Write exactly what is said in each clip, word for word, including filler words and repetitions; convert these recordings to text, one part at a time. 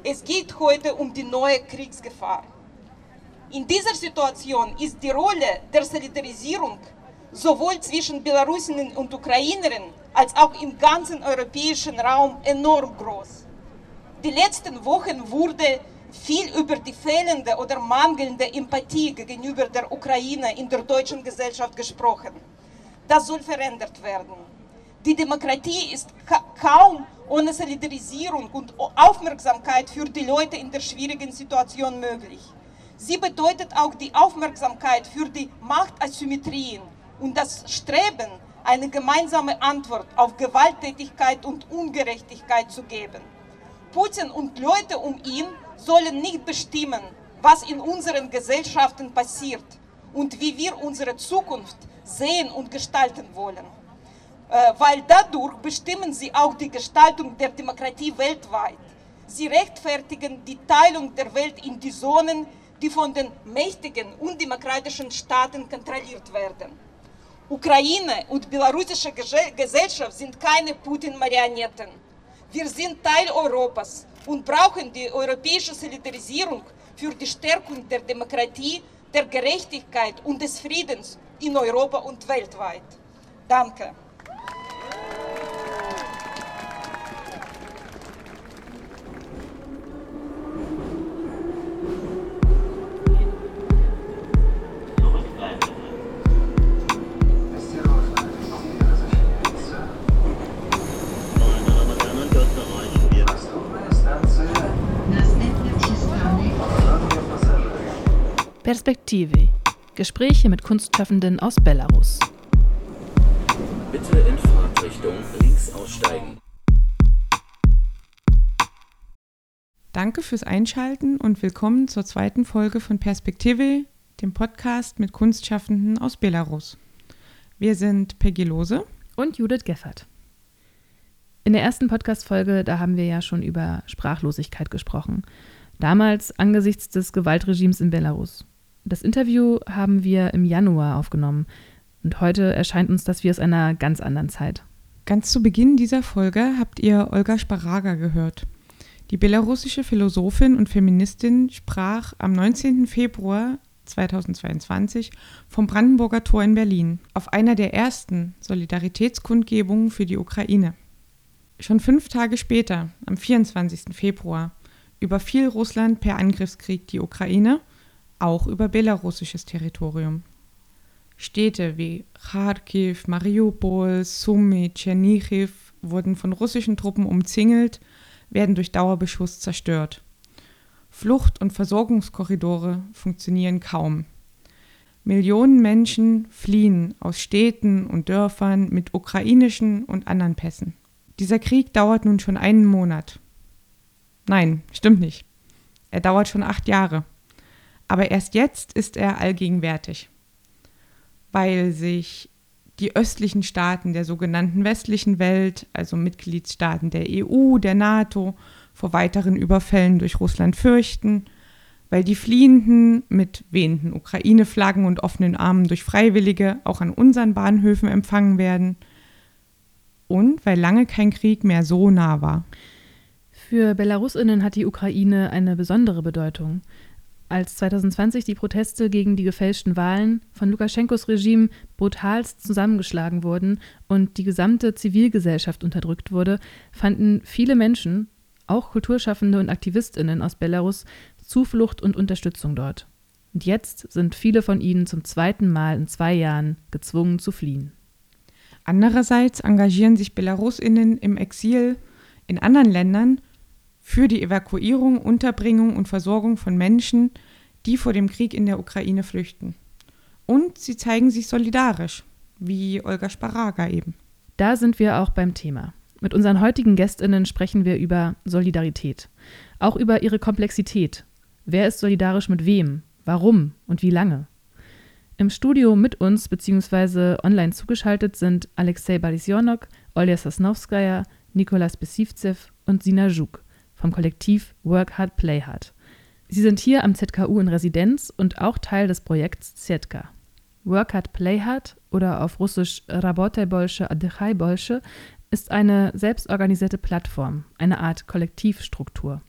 Es geht heute um die neue Kriegsgefahr. In dieser Situation ist die Rolle der Solidarisierung sowohl zwischen Belarusinnen und Ukrainerinnen als auch im ganzen europäischen Raum enorm groß. Die letzten Wochen wurde viel über die fehlende oder mangelnde Empathie gegenüber der Ukraine in der deutschen Gesellschaft gesprochen. Das soll verändert werden. Die Demokratie ist ka- kaum ohne Solidarisierung und Aufmerksamkeit für die Leute in der schwierigen Situation möglich. Sie bedeutet auch die Aufmerksamkeit für die Machtasymmetrien und das Streben, eine gemeinsame Antwort auf Gewalttätigkeit und Ungerechtigkeit zu geben. Putin und Leute um ihn sollen nicht bestimmen, was in unseren Gesellschaften passiert und wie wir unsere Zukunft sehen und gestalten wollen. Äh, weil dadurch bestimmen sie auch die Gestaltung der Demokratie weltweit. Sie rechtfertigen die Teilung der Welt in die Zonen, die von den mächtigen, undemokratischen Staaten kontrolliert werden. Ukraine und belarussische Gesellschaft sind keine Putin-Marionetten. Wir sind Teil Europas und brauchen die europäische Solidarisierung für die Stärkung der Demokratie, der Gerechtigkeit und des Friedens in Europa und weltweit. Danke. Perspektive. Gespräche mit Kunstschaffenden aus Belarus. Bitte in Fahrtrichtung links aussteigen. Danke fürs Einschalten und willkommen zur zweiten Folge von Perspektive, dem Podcast mit Kunstschaffenden aus Belarus. Wir sind Peggy Lohse und Judith Geffert. In der ersten Podcast-Folge, da haben wir ja schon über Sprachlosigkeit gesprochen. Damals angesichts des Gewaltregimes in Belarus. Das Interview haben wir im Januar aufgenommen und heute erscheint uns das wie aus einer ganz anderen Zeit. Ganz zu Beginn dieser Folge habt ihr Olga Sparaga gehört. Die belarussische Philosophin und Feministin sprach am neunzehnten Februar zweitausendzweiundzwanzig vom Brandenburger Tor in Berlin auf einer der ersten Solidaritätskundgebungen für die Ukraine. Schon fünf Tage später, am vierundzwanzigsten Februar, überfiel Russland per Angriffskrieg die Ukraine, auch über belarussisches Territorium. Städte wie Kharkiv, Mariupol, Sumy, Tschernichiw wurden von russischen Truppen umzingelt, werden durch Dauerbeschuss zerstört. Flucht- und Versorgungskorridore funktionieren kaum. Millionen Menschen fliehen aus Städten und Dörfern mit ukrainischen und anderen Pässen. Dieser Krieg dauert nun schon einen Monat. Nein, stimmt nicht. Er dauert schon acht Jahre. Aber erst jetzt ist er allgegenwärtig, weil sich die östlichen Staaten der sogenannten westlichen Welt, also Mitgliedstaaten der E U, der NATO, vor weiteren Überfällen durch Russland fürchten, weil die Fliehenden mit wehenden Ukraine-Flaggen und offenen Armen durch Freiwillige auch an unseren Bahnhöfen empfangen werden und weil lange kein Krieg mehr so nah war. Für BelarusInnen hat die Ukraine eine besondere Bedeutung. Als zweitausendzwanzig die Proteste gegen die gefälschten Wahlen von Lukaschenkos Regime brutalst zusammengeschlagen wurden und die gesamte Zivilgesellschaft unterdrückt wurde, fanden viele Menschen, auch Kulturschaffende und AktivistInnen aus Belarus, Zuflucht und Unterstützung dort. Und jetzt sind viele von ihnen zum zweiten Mal in zwei Jahren gezwungen zu fliehen. Andererseits engagieren sich BelarusInnen im Exil in anderen Ländern für die Evakuierung, Unterbringung und Versorgung von Menschen, die vor dem Krieg in der Ukraine flüchten. Und sie zeigen sich solidarisch, wie Olga Sparaga eben. Da sind wir auch beim Thema. Mit unseren heutigen GästInnen sprechen wir über Solidarität, auch über ihre Komplexität. Wer ist solidarisch mit wem, warum und wie lange? Im Studio mit uns bzw. online zugeschaltet sind Alexei Barisionok, Olja Sosnowskaja, Nikolas Besivtsev und Sina Zhuk vom Kollektiv Work Hard, Play Hard. Sie sind hier am Z K U in Residenz und auch Teil des Projekts Setka. Work Hard, Play Hard oder auf Russisch Работай больше, отдыхай больше ist eine selbstorganisierte Plattform, eine Art Kollektivstruktur.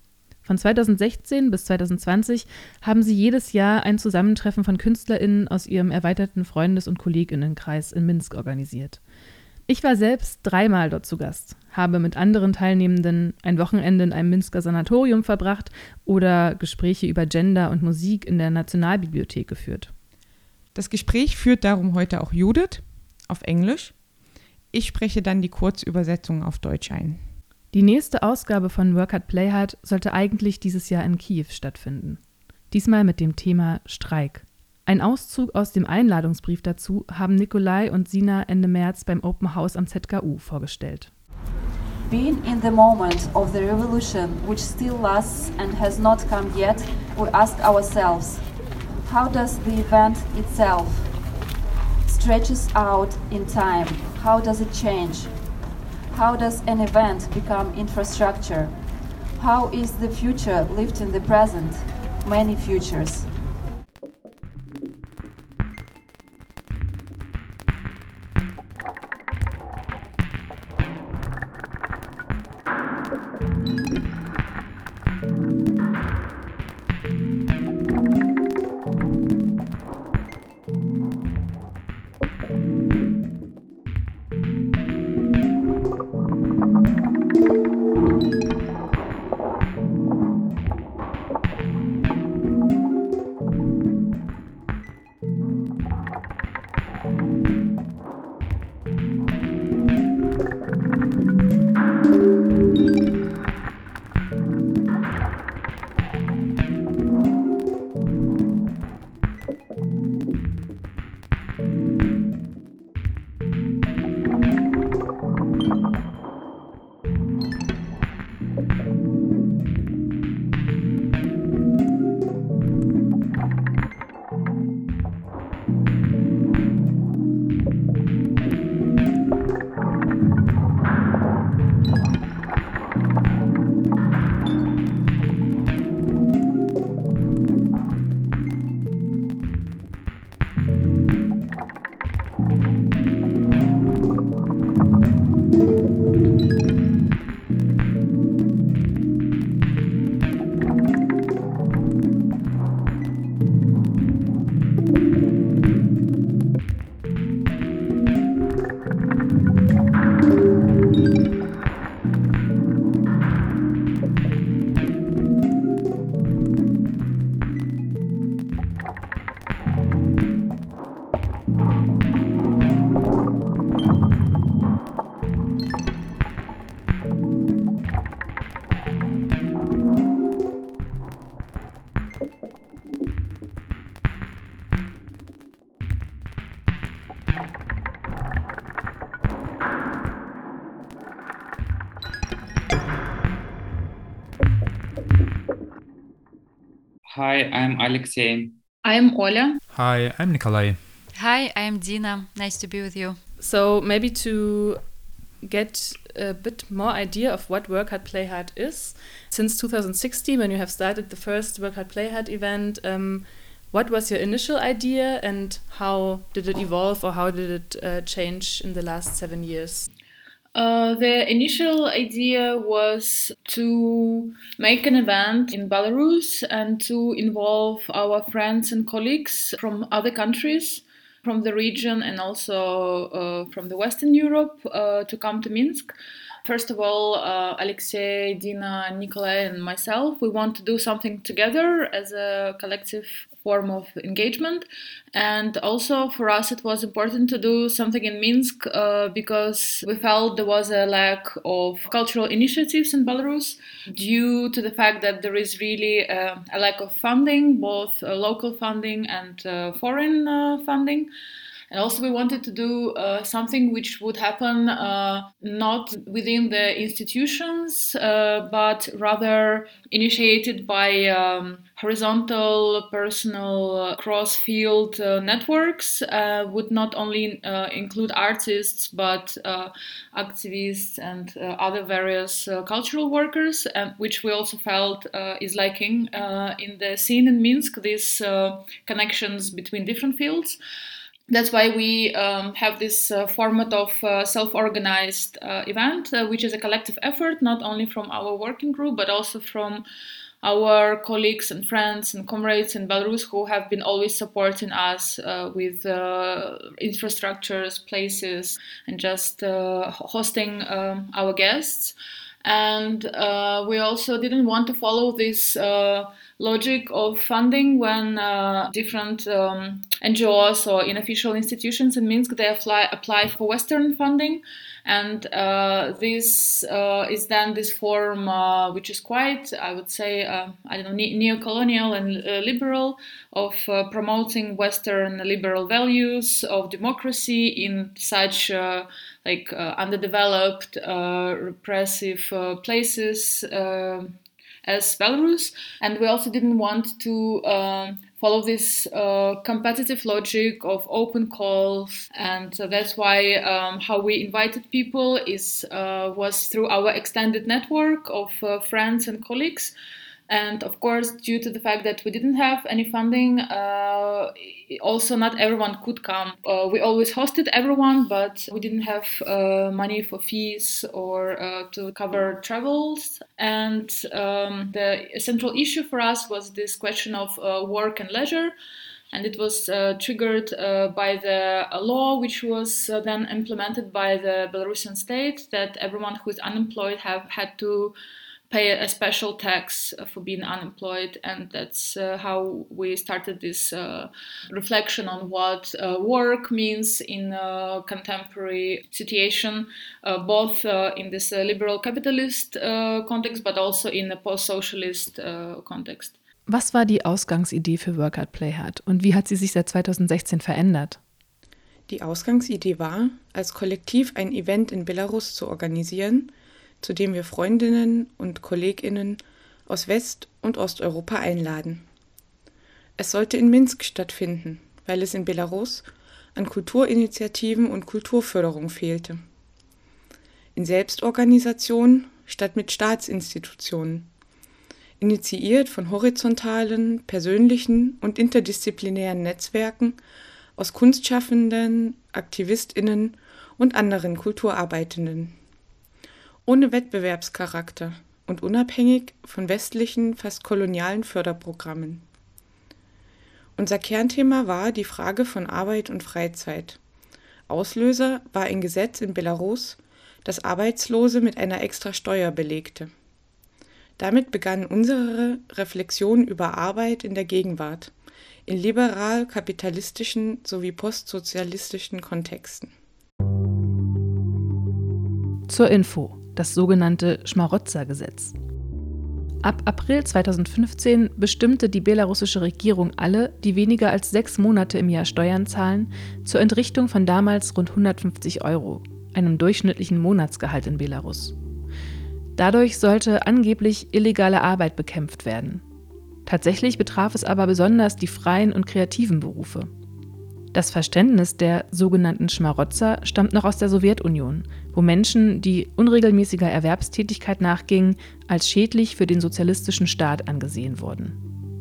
Von zweitausendsechzehn bis zweitausendzwanzig haben sie jedes Jahr ein Zusammentreffen von KünstlerInnen aus ihrem erweiterten Freundes- und KollegInnenkreis in Minsk organisiert. Ich war selbst dreimal dort zu Gast, habe mit anderen Teilnehmenden ein Wochenende in einem Minsker Sanatorium verbracht oder Gespräche über Gender und Musik in der Nationalbibliothek geführt. Das Gespräch führt darum heute auch Judith auf Englisch. Ich spreche dann die Kurzübersetzung auf Deutsch ein. Die nächste Ausgabe von Work Hard Play Hard sollte eigentlich dieses Jahr in Kiew stattfinden. Diesmal mit dem Thema Streik. Ein Auszug aus dem Einladungsbrief dazu haben Nikolai und Sina Ende März beim Open House am Z K U vorgestellt. Being in the moment of the revolution, which still lasts and has not come yet, we ask ourselves, how does the event itself stretches out in time? How does it change? How does an event become infrastructure? How is the future lived in the present? Many futures. Hi, I'm Alexei. I'm Oля. Hi, I'm Nikolai. Hi, I'm Dina. Nice to be with you. So maybe to get a bit more idea of what Work Hard Play Hard is, since two thousand sixteen, when you have started the first Work Hard Play Hard event, um, what was your initial idea and how did it evolve or how did it uh, change in the last seven years? Uh, the initial idea was to make an event in Belarus and to involve our friends and colleagues from other countries, from the region and also uh, from the Western Europe uh, to come to Minsk. First of all, uh, Alexei, Dina, Nikolai and myself, we want to do something together as a collective form of engagement. And also for us it was important to do something in Minsk uh, because we felt there was a lack of cultural initiatives in Belarus due to the fact that there is really uh, a lack of funding, both uh, local funding and uh, foreign uh, funding. And also we wanted to do uh, something which would happen uh, not within the institutions, uh, but rather initiated by um, horizontal, personal, uh, cross-field uh, networks, uh, would not only uh, include artists, but uh, activists and uh, other various uh, cultural workers, uh, which we also felt uh, is lacking uh, in the scene in Minsk, these uh, connections between different fields. That's why we um, have this uh, format of uh, self-organized uh, event, uh, which is a collective effort, not only from our working group, but also from our colleagues and friends and comrades in Belarus who have been always supporting us uh, with uh, infrastructures, places, and just uh, hosting um, our guests. And uh, we also didn't want to follow this uh, logic of funding when uh, different um, N G Os or unofficial institutions in Minsk, they apply, apply for Western funding. And uh, this uh, is then this form uh, which is quite, I would say, uh, I don't know, ne- neo-colonial and uh, liberal, of uh, promoting Western liberal values of democracy in such uh, like uh, underdeveloped, uh, repressive uh, places uh, as Belarus. And we also didn't want to uh, follow this uh, competitive logic of open calls, and so that's why um, how we invited people is uh, was through our extended network of uh, friends and colleagues. And of course, due to the fact that we didn't have any funding, uh, also not everyone could come. Uh, we always hosted everyone, but we didn't have uh, money for fees or uh, to cover travels. And um, the central issue for us was this question of uh, work and leisure. And it was uh, triggered uh, by the uh, law, which was uh, then implemented by the Belarusian state, that everyone who is unemployed have had to pay a special tax for being unemployed. And that's uh, how we started this uh, reflection on what uh, work means in a contemporary situation, uh, both uh, in this uh, liberal capitalist uh, context, but also in a post-socialist uh, context. Was war die Ausgangsidee für Work Hard Play Hard und wie hat sie sich seit zweitausendsechzehn verändert? Die Ausgangsidee war, als Kollektiv ein Event in Belarus zu organisieren, zu dem wir Freundinnen und KollegInnen aus West- und Osteuropa einladen. Es sollte in Minsk stattfinden, weil es in Belarus an Kulturinitiativen und Kulturförderung fehlte. In Selbstorganisation statt mit Staatsinstitutionen. Initiiert von horizontalen, persönlichen und interdisziplinären Netzwerken aus Kunstschaffenden, AktivistInnen und anderen Kulturarbeitenden. Ohne Wettbewerbscharakter und unabhängig von westlichen, fast kolonialen Förderprogrammen. Unser Kernthema war die Frage von Arbeit und Freizeit. Auslöser war ein Gesetz in Belarus, das Arbeitslose mit einer extra Steuer belegte. Damit begann unsere Reflexion über Arbeit in der Gegenwart, in liberal-kapitalistischen sowie postsozialistischen Kontexten. Zur Info: Das sogenannte Schmarotzer-Gesetz. Ab April zweitausendfünfzehn bestimmte die belarussische Regierung alle, die weniger als sechs Monate im Jahr Steuern zahlen, zur Entrichtung von damals rund hundertfünfzig Euro, einem durchschnittlichen Monatsgehalt in Belarus. Dadurch sollte angeblich illegale Arbeit bekämpft werden. Tatsächlich betraf es aber besonders die freien und kreativen Berufe. Das Verständnis der sogenannten Schmarotzer stammt noch aus der Sowjetunion, wo Menschen, die unregelmäßiger Erwerbstätigkeit nachgingen, als schädlich für den sozialistischen Staat angesehen wurden.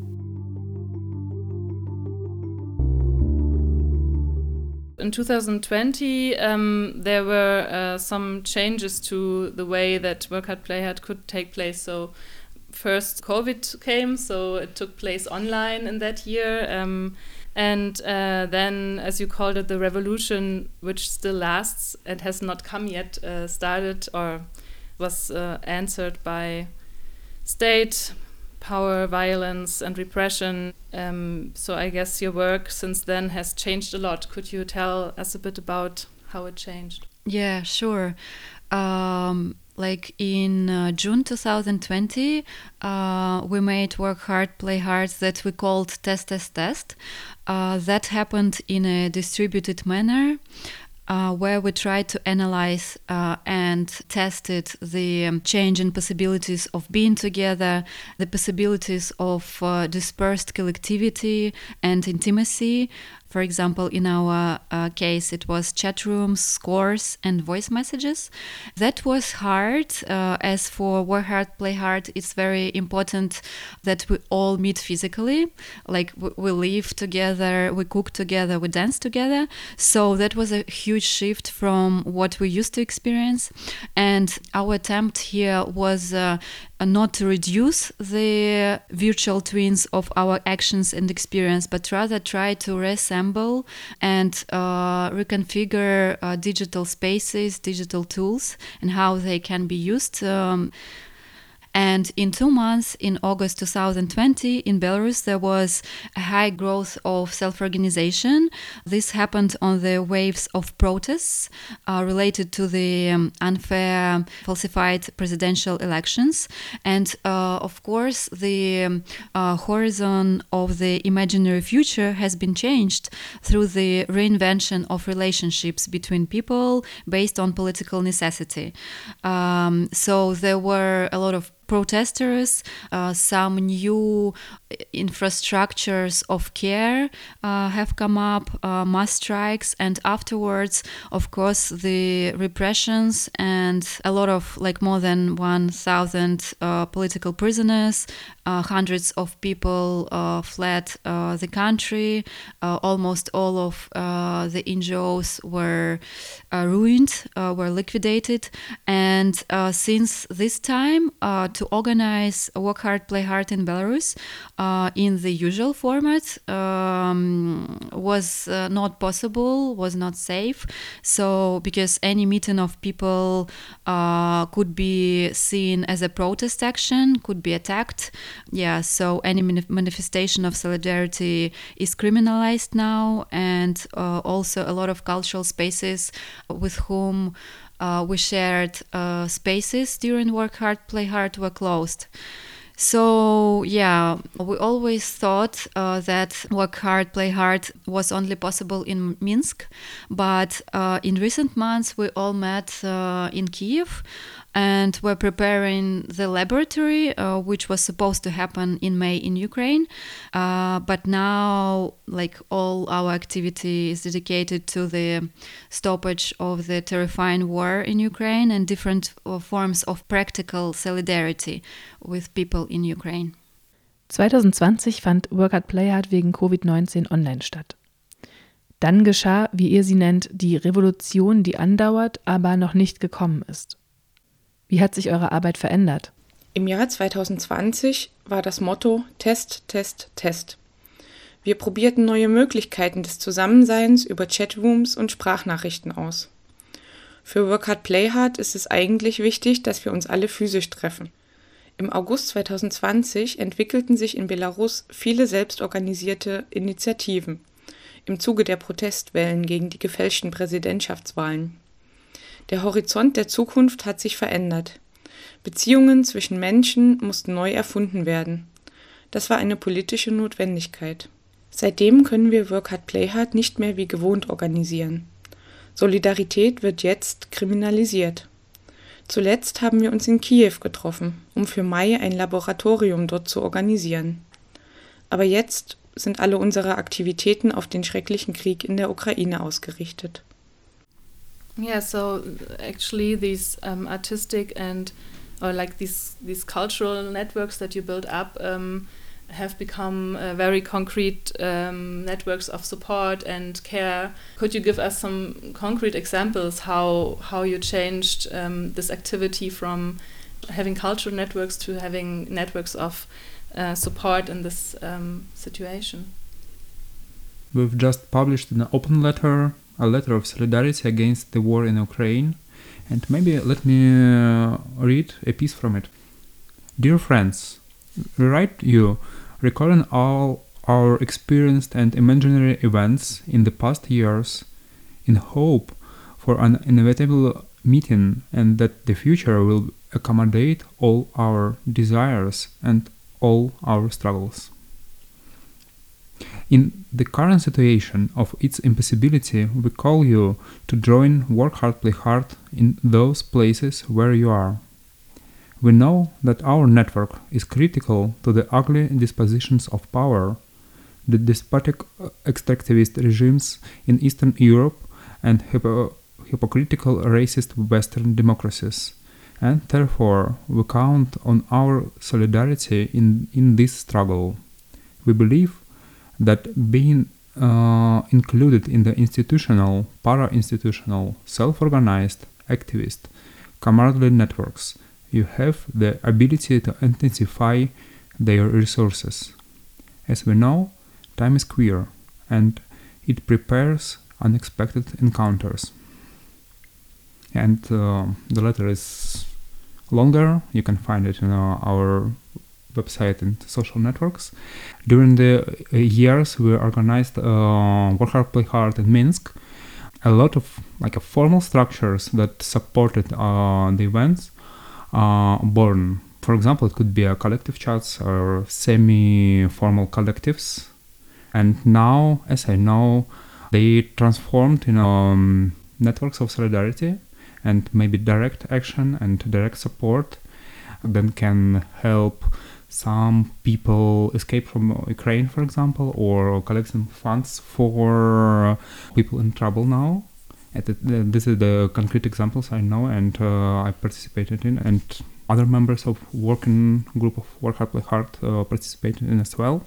In twenty twenty, um, there were uh, some changes to the way that Work Hard Play Hard could take place. So first COVID came, so it took place online in that year. Um, And uh, then, as you called it, the revolution, which still lasts and has not come yet, uh, started or was uh, answered by state power, violence and repression. Um, so I guess your work since then has changed a lot. Could you tell us a bit about how it changed? Yeah, sure. Um, like in uh, June twenty twenty, uh, we made Work Hard, Play Hard that we called Test, Test, Test. Uh, that happened in a distributed manner, uh, where we tried to analyze uh, and tested the um, change in possibilities of being together, the possibilities of uh, dispersed collectivity and intimacy. For example, in our uh, case, it was chat rooms, scores, and voice messages. That was hard. Uh, as for Work Hard, Play Hard, it's very important that we all meet physically. Like we, we live together, we cook together, we dance together. So that was a huge shift from what we used to experience. And our attempt here was uh, uh, not to reduce the virtual twins of our actions and experience, but rather try to reassemble and uh, reconfigure uh, digital spaces, digital tools, and how they can be used. Um, And in two months, in August two thousand twenty, in Belarus, there was a high growth of self-organization. This happened on the waves of protests uh, related to the um, unfair, falsified presidential elections. And uh, of course, the um, uh, horizon of the imaginary future has been changed through the reinvention of relationships between people based on political necessity. Um, so there were a lot of protesters, uh, some new infrastructures of care uh, have come up, uh, mass strikes, and afterwards, of course, the repressions and a lot of, like more than one thousand uh, political prisoners, uh, hundreds of people uh, fled uh, the country, uh, almost all of uh, the N G Os were uh, ruined, uh, were liquidated, and uh, since this time, uh, to organize Work Hard, Play Hard in Belarus uh, in the usual format um, was uh, not possible, was not safe. So because any meeting of people uh, could be seen as a protest action, could be attacked. Yeah, so any manif- manifestation of solidarity is criminalized now, and uh, also a lot of cultural spaces with whom Uh, we shared uh, spaces during Work Hard, Play Hard were closed. So yeah, we always thought uh, that Work Hard, Play Hard was only possible in Minsk, but uh, in recent months we all met uh, in Kiev and were preparing the laboratory, uh, which was supposed to happen in May in Ukraine. Uh, but now, like, all our activity is dedicated to the stoppage of the terrifying war in Ukraine and different uh, forms of practical solidarity with people in Ukraine. zwanzig zwanzig fand Work Hard, Play Hard wegen Covid neunzehn online statt. Dann geschah, wie ihr sie nennt, die Revolution, die andauert, aber noch nicht gekommen ist. Wie hat sich eure Arbeit verändert? Im Jahr zwanzig zwanzig war das Motto Test, Test, Test. Wir probierten neue Möglichkeiten des Zusammenseins über Chatrooms und Sprachnachrichten aus. Für Work Hard, Play Hard ist es eigentlich wichtig, dass wir uns alle physisch treffen. Im August zwanzig zwanzig entwickelten sich in Belarus viele selbstorganisierte Initiativen im Zuge der Protestwellen gegen die gefälschten Präsidentschaftswahlen. Der Horizont der Zukunft hat sich verändert. Beziehungen zwischen Menschen mussten neu erfunden werden. Das war eine politische Notwendigkeit. Seitdem können wir Work Hard, Play Hard nicht mehr wie gewohnt organisieren. Solidarität wird jetzt kriminalisiert. Zuletzt haben wir uns in Kiew getroffen, um für Mai ein Laboratorium dort zu organisieren. Aber jetzt sind alle unsere Aktivitäten auf den schrecklichen Krieg in der Ukraine ausgerichtet. Yeah, so actually these um, artistic and or like these these cultural networks that you build up um, have become uh, very concrete um, networks of support and care. Could you give us some concrete examples how how you changed um, this activity from having cultural networks to having networks of uh, support in this um, situation? We've just published an open letter, a letter of solidarity against the war in Ukraine, and maybe let me uh, read a piece from it. Dear friends, we write you recalling all our experienced and imaginary events in the past years in hope for an inevitable meeting and that the future will accommodate all our desires and all our struggles. In the current situation of its impossibility, we call you to join Work Hard, Play Hard in those places where you are. We know that our network is critical to the ugly dispositions of power, the despotic extractivist regimes in Eastern Europe and hypo- hypocritical racist Western democracies, and therefore we count on our solidarity in, in this struggle. We believe that being uh, included in the institutional, para-institutional, self-organized, activist, camaraderie networks you have the ability to intensify their resources. As we know, time is queer, and it prepares unexpected encounters. And uh, the letter is longer. You can find it in uh, our website and social networks. During the uh, years we organized uh, Work Hard, Play Hard in Minsk. A lot of like uh, formal structures that supported uh, the events are born. For example, it could be a collective chats or semi-formal collectives. And now, as I know, they transformed in um, networks of solidarity and maybe direct action and direct support that can help some people escape from Ukraine, for example, or collecting funds for people in trouble now. And this is the concrete examples I know and uh, I participated in, and other members of working group of Work Hard, Play Hard uh, participated in as well.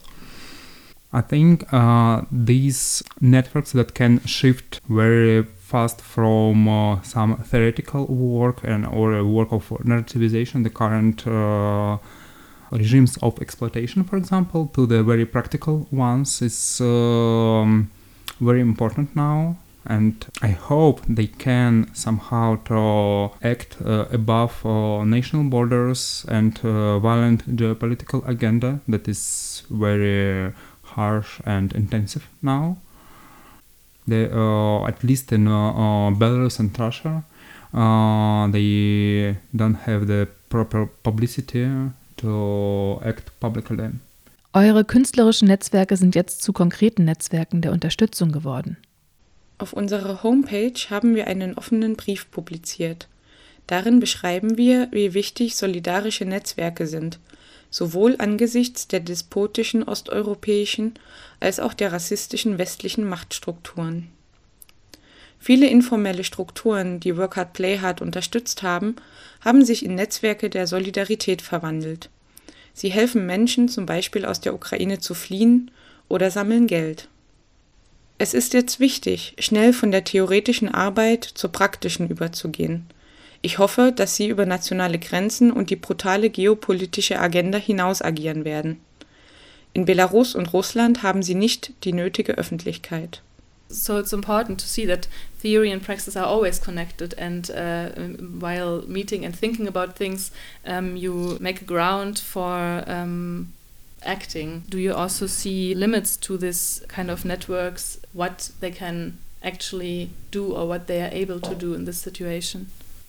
I think uh, these networks that can shift very fast from uh, some theoretical work and or a work of narrativization, the current uh, regimes of exploitation, for example, to the very practical ones is um, very important now. And I hope they can somehow to act uh, above uh, national borders and uh, violent geopolitical agenda that is very harsh and intensive now. They, uh, at least in uh, uh, Belarus and Russia, uh, they don't have the proper publicity to act publicly. Eure künstlerischen Netzwerke sind jetzt zu konkreten Netzwerken der Unterstützung geworden. Auf unserer Homepage haben wir einen offenen Brief publiziert. Darin beschreiben wir, wie wichtig solidarische Netzwerke sind, sowohl angesichts der despotischen osteuropäischen als auch der rassistischen westlichen Machtstrukturen. Viele informelle Strukturen, die Work Hard, Play Hard unterstützt haben, haben sich in Netzwerke der Solidarität verwandelt. Sie helfen Menschen zum Beispiel aus der Ukraine zu fliehen oder sammeln Geld. Es ist jetzt wichtig, schnell von der theoretischen Arbeit zur praktischen überzugehen. Ich hoffe, dass Sie über nationale Grenzen und die brutale geopolitische Agenda hinaus agieren werden. In Belarus und Russland haben Sie nicht die nötige Öffentlichkeit. So it's important to see that theory and practice are always connected, and uh, while meeting and thinking about things, um, you make a ground for um, acting. Do you also see limits to this kind of networks, what they can actually do or what they are able to do in this situation?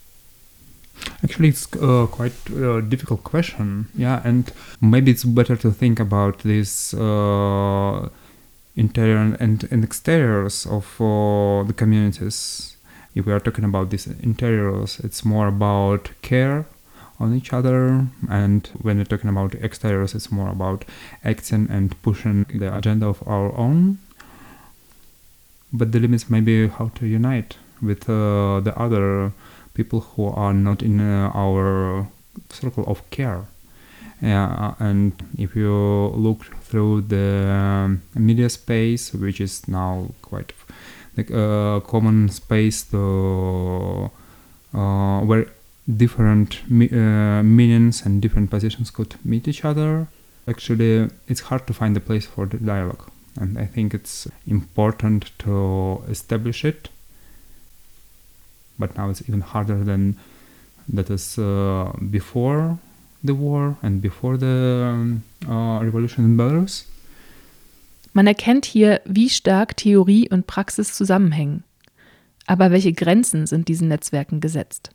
Actually, it's uh, quite a difficult question, yeah, and maybe it's better to think about this uh, interior and, and exteriors of uh, the communities. If we are talking about these interiors, it's more about care on each other, and when we're talking about exteriors, it's more about acting and pushing the agenda of our own. But the limits may be how to unite with uh, the other people who are not in uh, our circle of care. Yeah, and if you look through the um, media space, which is now quite like a common space to uh, where different mi- uh, meanings and different positions could meet each other, actually it's hard to find a place for the dialogue. And I think it's important to establish it. But now it's even harder than that is uh, before the war and before the um, uh, revolution in Belarus. Man erkennt hier, wie stark Theorie und Praxis zusammenhängen. Aber welche Grenzen sind diesen Netzwerken gesetzt?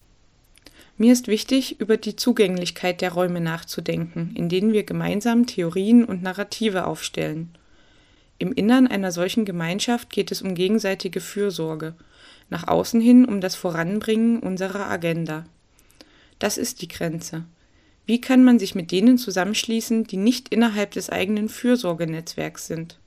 Mir ist wichtig, über die Zugänglichkeit der Räume nachzudenken, in denen wir gemeinsam Theorien und Narrative aufstellen. Im Innern einer solchen Gemeinschaft geht es um gegenseitige Fürsorge, nach außen hin um das Voranbringen unserer Agenda. Das ist die Grenze. Wie kann man sich mit denen zusammenschließen, die nicht innerhalb des eigenen Fürsorgenetzwerks sind?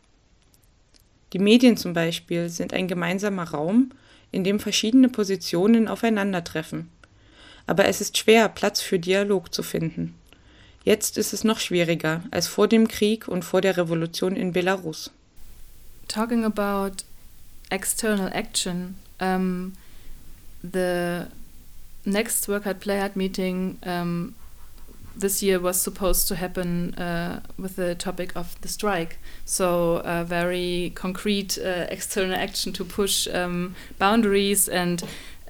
Die Medien zum Beispiel sind ein gemeinsamer Raum, in dem verschiedene Positionen aufeinandertreffen. Aber es ist schwer, Platz für Dialog zu finden. Jetzt ist es noch schwieriger als vor dem Krieg und vor der Revolution in Belarus. Talking about external action, um, the next Work Hard Play Hard meeting um, this year was supposed to happen uh, with the topic of the strike. So a very concrete uh, external action to push um, boundaries and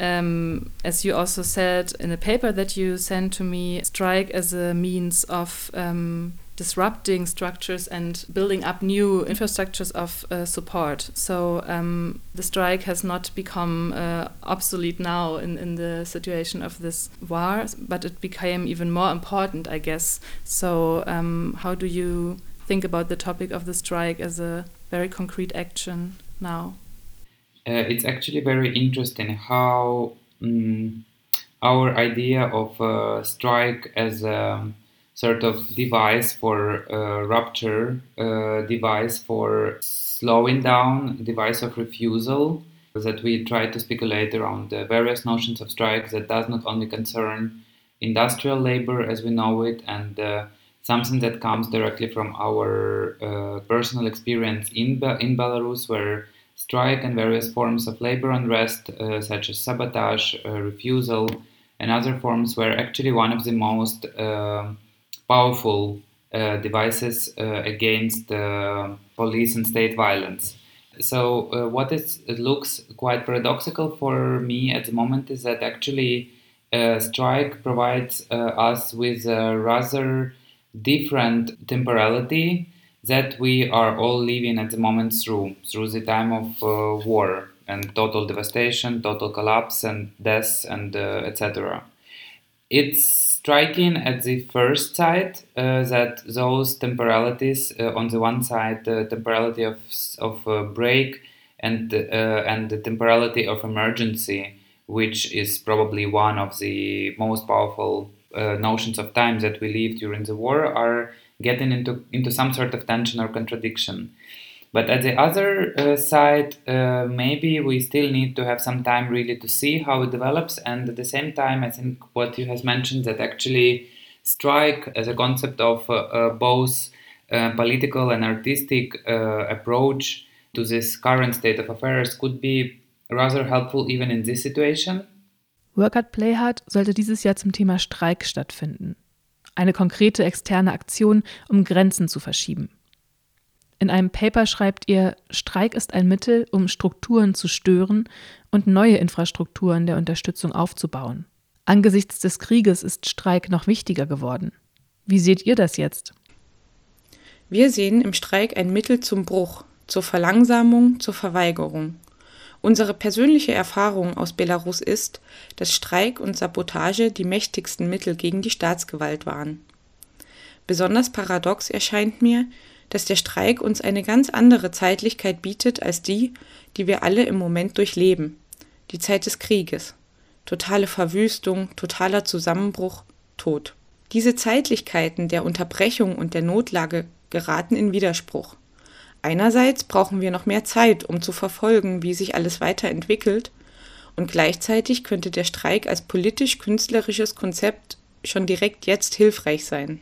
um, as you also said in the paper that you sent to me, strike as a means of um, disrupting structures and building up new infrastructures of uh, support. So um, the strike has not become uh, obsolete now in, in the situation of this war, but it became even more important, I guess. So um, how do you think about the topic of the strike as a very concrete action now? Uh, it's actually very interesting how um, our idea of uh, strike as a sort of device for uh, rupture, uh, device for slowing down, device of refusal, that we try to speculate around the various notions of strikes that does not only concern industrial labor as we know it, and uh, something that comes directly from our uh, personal experience in, Be- in Belarus, where strike and various forms of labor unrest, uh, such as sabotage, uh, refusal, and other forms were actually one of the most uh, powerful uh, devices uh, against uh, police and state violence. So uh, what is, it looks quite paradoxical for me at the moment is that actually uh, strike provides uh, us with a rather different temporality that we are all living at the moment through, through the time of uh, war and total devastation, total collapse and death and uh, et cetera. It's striking at the first sight uh, that those temporalities, uh, on the one side, the temporality of of uh, break and uh, and the temporality of emergency, which is probably one of the most powerful uh, notions of time that we live during the war, are getting into into some sort of tension or contradiction. But at the other uh, side, uh, maybe we still need to have some time really to see how it develops. And at the same time, I think what you have mentioned, that actually strike as a concept of uh, uh, both uh, political and artistic uh, approach to this current state of affairs could be rather helpful even in this situation. Work Hard Play Hard sollte dieses Jahr zum Thema Streik stattfinden. Eine konkrete externe Aktion, um Grenzen zu verschieben. In einem Paper schreibt ihr, Streik ist ein Mittel, um Strukturen zu stören und neue Infrastrukturen der Unterstützung aufzubauen. Angesichts des Krieges ist Streik noch wichtiger geworden. Wie seht ihr das jetzt? Wir sehen im Streik ein Mittel zum Bruch, zur Verlangsamung, zur Verweigerung. Unsere persönliche Erfahrung aus Belarus ist, dass Streik und Sabotage die mächtigsten Mittel gegen die Staatsgewalt waren. Besonders paradox erscheint mir, dass der Streik uns eine ganz andere Zeitlichkeit bietet als die, die wir alle im Moment durchleben. Die Zeit des Krieges. Totale Verwüstung, totaler Zusammenbruch, Tod. Diese Zeitlichkeiten der Unterbrechung und der Notlage geraten in Widerspruch. Einerseits brauchen wir noch mehr Zeit, um zu verfolgen, wie sich alles weiterentwickelt, und gleichzeitig könnte der Streik als politisch-künstlerisches Konzept schon direkt jetzt hilfreich sein.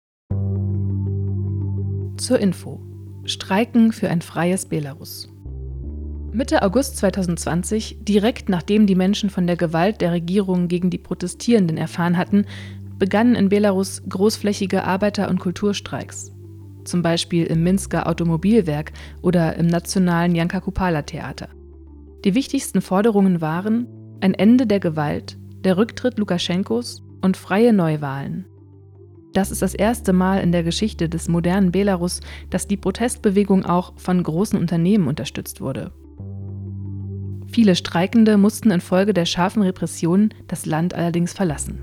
Zur Info: Streiken für ein freies Belarus. Mitte August zweitausendzwanzig, direkt nachdem die Menschen von der Gewalt der Regierung gegen die Protestierenden erfahren hatten, begannen in Belarus großflächige Arbeiter- und Kulturstreiks. Zum Beispiel im Minsker Automobilwerk oder im nationalen Janka Kupala-Theater. Die wichtigsten Forderungen waren ein Ende der Gewalt, der Rücktritt Lukaschenkos und freie Neuwahlen. Das ist das erste Mal in der Geschichte des modernen Belarus, dass die Protestbewegung auch von großen Unternehmen unterstützt wurde. Viele Streikende mussten infolge der scharfen Repressionen das Land allerdings verlassen.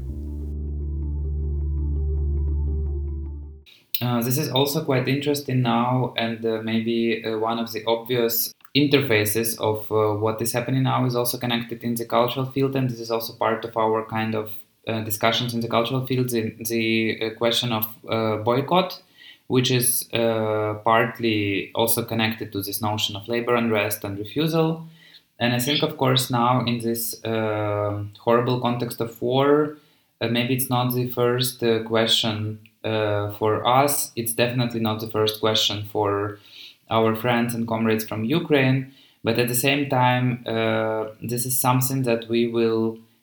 Uh, this is also quite interesting now, and uh, maybe uh, one of the obvious interfaces of uh, what is happening now is also connected in the cultural field, and this is also part of our kind of uh, discussions in the cultural field, the, the uh, question of uh, boycott, which is uh, partly also connected to this notion of labor unrest and refusal. And I think, of course, now in this uh, horrible context of war, uh, maybe it's not the first uh, question uh, for us. It's definitely not the first question for our friends and comrades from Ukraine. But at the same time, uh, this is something that we will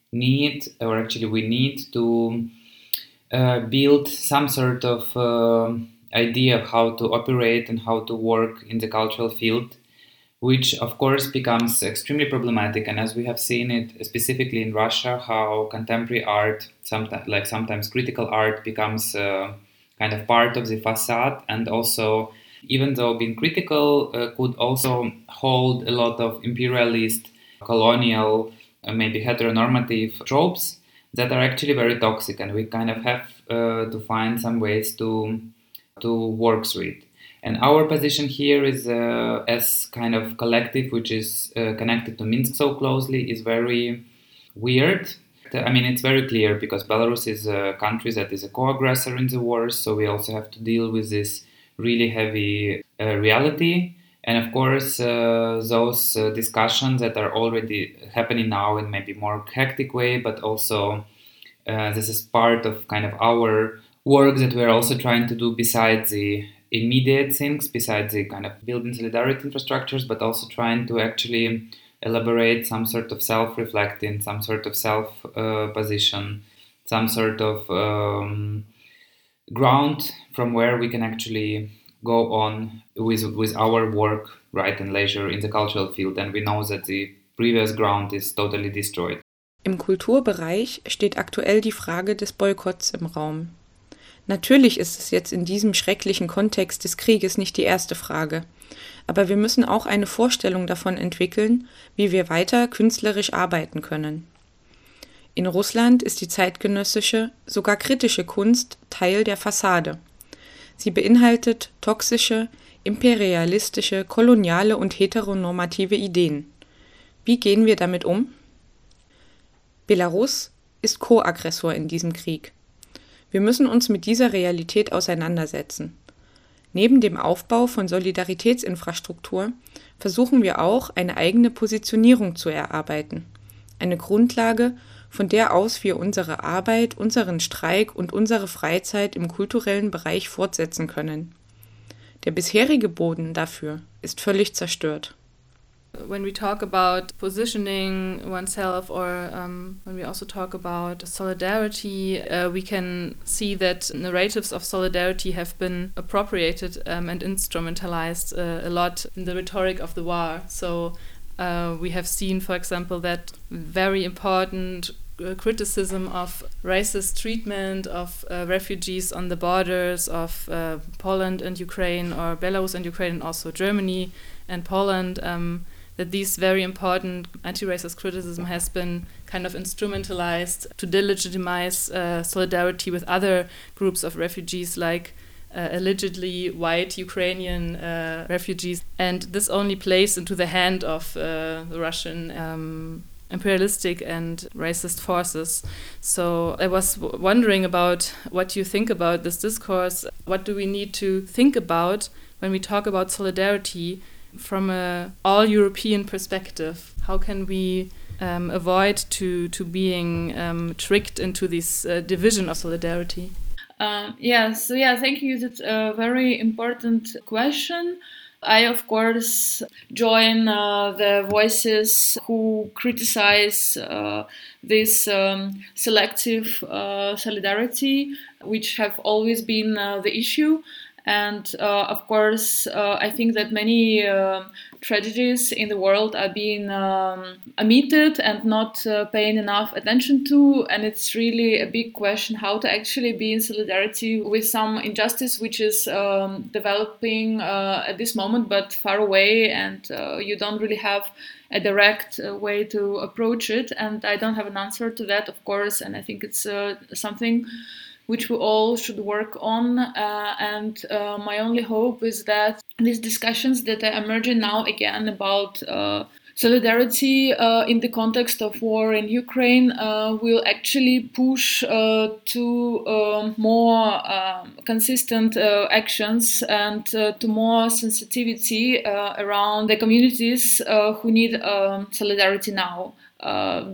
need, or actually we need to uh, build some sort of uh, idea of how to operate and how to work in the cultural field, which of course becomes extremely problematic. And as we have seen it specifically in Russia, how contemporary art, sometimes like sometimes critical art, becomes uh, kind of part of the facade, and also, even though being critical uh, could also hold a lot of imperialist, colonial, uh, maybe heteronormative tropes that are actually very toxic, and we kind of have uh, to find some ways to to work through it. And our position here is uh, as kind of collective, which is uh, connected to Minsk so closely, is very weird. I mean, it's very clear because Belarus is a country that is a co-aggressor in the war, so we also have to deal with this really heavy uh, reality. And of course, uh, those uh, discussions that are already happening now in maybe more hectic way, but also uh, this is part of kind of our work that we're also trying to do besides the immediate things, besides the kind of building solidarity infrastructures, but also trying to actually elaborate some sort of self-reflecting, some sort of self-position, uh, some sort of um, ground from where we can actually go on with with our work, right, and leisure in the cultural field. And we know that the previous ground is totally destroyed. Im Kulturbereich steht aktuell die Frage des Boykotts im Raum. Natürlich ist es jetzt in diesem schrecklichen Kontext des Krieges nicht die erste Frage, aber wir müssen auch eine Vorstellung davon entwickeln, wie wir weiter künstlerisch arbeiten können. In Russland ist die zeitgenössische, sogar kritische Kunst Teil der Fassade. Sie beinhaltet toxische, imperialistische, koloniale und heteronormative Ideen. Wie gehen wir damit um? Belarus ist Co-Aggressor in diesem Krieg. Wir müssen uns mit dieser Realität auseinandersetzen. Neben dem Aufbau von Solidaritätsinfrastruktur versuchen wir auch, eine eigene Positionierung zu erarbeiten. Eine Grundlage, von der aus wir unsere Arbeit, unseren Streik und unsere Freizeit im kulturellen Bereich fortsetzen können. Der bisherige Boden dafür ist völlig zerstört. When we talk about positioning oneself, or um, when we also talk about solidarity, uh, we can see that narratives of solidarity have been appropriated um, and instrumentalized uh, a lot in the rhetoric of the war. So uh, we have seen, for example, that very important uh, criticism of racist treatment of uh, refugees on the borders of uh, Poland and Ukraine, or Belarus and Ukraine, and also Germany and Poland. Um, that these very important anti-racist criticism has been kind of instrumentalized to delegitimize uh, solidarity with other groups of refugees, like uh, allegedly white Ukrainian uh, refugees. And this only plays into the hand of uh, the Russian um, imperialistic and racist forces. So I was w- wondering about what you think about this discourse. What do we need to think about when we talk about solidarity from a all-European perspective? How can we um, avoid to to being um, tricked into this uh, division of solidarity? Um, yeah, so yeah, thank you. That's a very important question. I, of course, join uh, the voices who criticize uh, this um, selective uh, solidarity, which have always been uh, the issue. And uh, of course, uh, I think that many uh, tragedies in the world are being um, omitted and not uh, paying enough attention to. And it's really a big question how to actually be in solidarity with some injustice which is um, developing uh, at this moment, but far away, and uh, you don't really have a direct uh, way to approach it. And I don't have an answer to that, of course. And I think it's uh, something which we all should work on. Uh, and uh, my only hope is that these discussions that are emerging now again about uh, solidarity uh, in the context of war in Ukraine uh, will actually push uh, to uh, more uh, consistent uh, actions and uh, to more sensitivity uh, around the communities uh, who need um, solidarity now. Uh,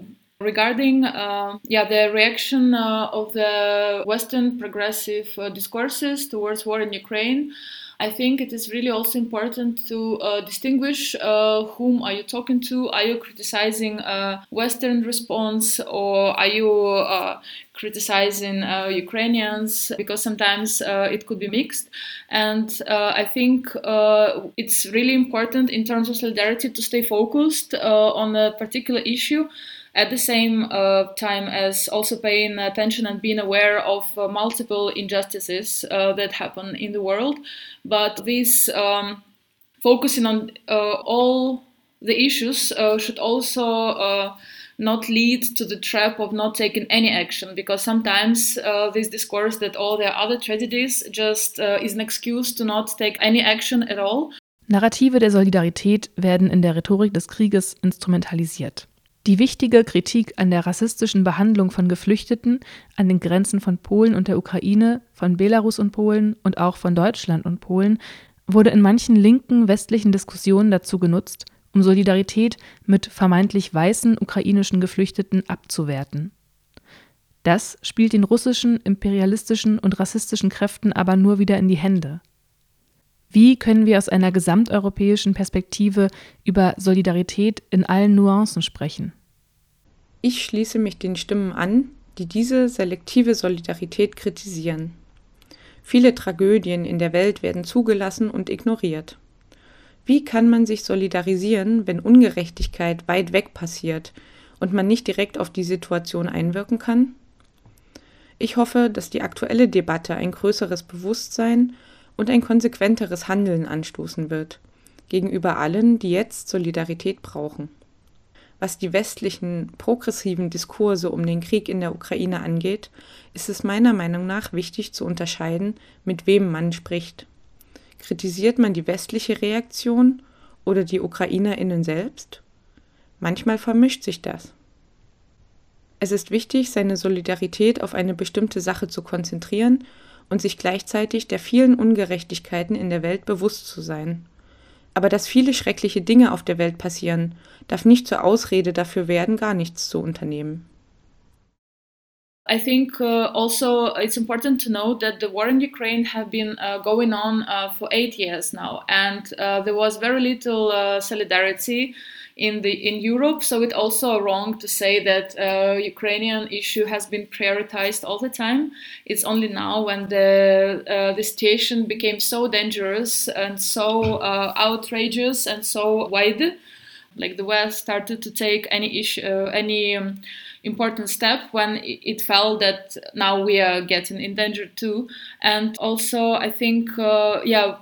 Regarding uh, yeah, the reaction uh, of the Western progressive uh, discourses towards war in Ukraine, I think it is really also important to uh, distinguish uh, whom are you talking to. Are you criticizing a Western response, or are you uh, criticizing uh, Ukrainians? Because sometimes uh, it could be mixed. And uh, I think uh, it's really important in terms of solidarity to stay focused uh, on a particular issue, at the same uh, time as also paying attention and being aware of uh, multiple injustices uh, that happen in the world. But this um, focusing on uh, all the issues uh, should also uh, not lead to the trap of not taking any action, because sometimes uh, this discourse that all there are other tragedies just uh, is an excuse to not take any action at all. Narrative der Solidarität werden in der Rhetorik des Krieges instrumentalisiert. Die wichtige Kritik an der rassistischen Behandlung von Geflüchteten an den Grenzen von Polen und der Ukraine, von Belarus und Polen und auch von Deutschland und Polen wurde in manchen linken westlichen Diskussionen dazu genutzt, um Solidarität mit vermeintlich weißen ukrainischen Geflüchteten abzuwerten. Das spielt den russischen, imperialistischen und rassistischen Kräften aber nur wieder in die Hände. Wie können wir aus einer gesamteuropäischen Perspektive über Solidarität in allen Nuancen sprechen? Ich schließe mich den Stimmen an, die diese selektive Solidarität kritisieren. Viele Tragödien in der Welt werden zugelassen und ignoriert. Wie kann man sich solidarisieren, wenn Ungerechtigkeit weit weg passiert und man nicht direkt auf die Situation einwirken kann? Ich hoffe, dass die aktuelle Debatte ein größeres Bewusstsein und ein konsequenteres Handeln anstoßen wird, gegenüber allen, die jetzt Solidarität brauchen. Was die westlichen, progressiven Diskurse um den Krieg in der Ukraine angeht, ist es meiner Meinung nach wichtig zu unterscheiden, mit wem man spricht. Kritisiert man die westliche Reaktion oder die UkrainerInnen selbst? Manchmal vermischt sich das. Es ist wichtig, seine Solidarität auf eine bestimmte Sache zu konzentrieren und sich gleichzeitig der vielen Ungerechtigkeiten in der Welt bewusst zu sein. Aber dass viele schreckliche Dinge auf der Welt passieren, darf nicht zur Ausrede dafür werden, gar nichts zu unternehmen. I think uh, also it's important to note that the war in Ukraine have been uh, going on uh, for eight years now, and uh, there was very little uh, solidarity in the in Europe. So it's also wrong to say that uh, Ukrainian issue has been prioritized all the time. It's only now when the uh, the situation became so dangerous and so uh, outrageous and so wide, like the West started to take any issue, uh, any. Um, important step when it felt that now we are getting in danger too. And also I think, uh, yeah,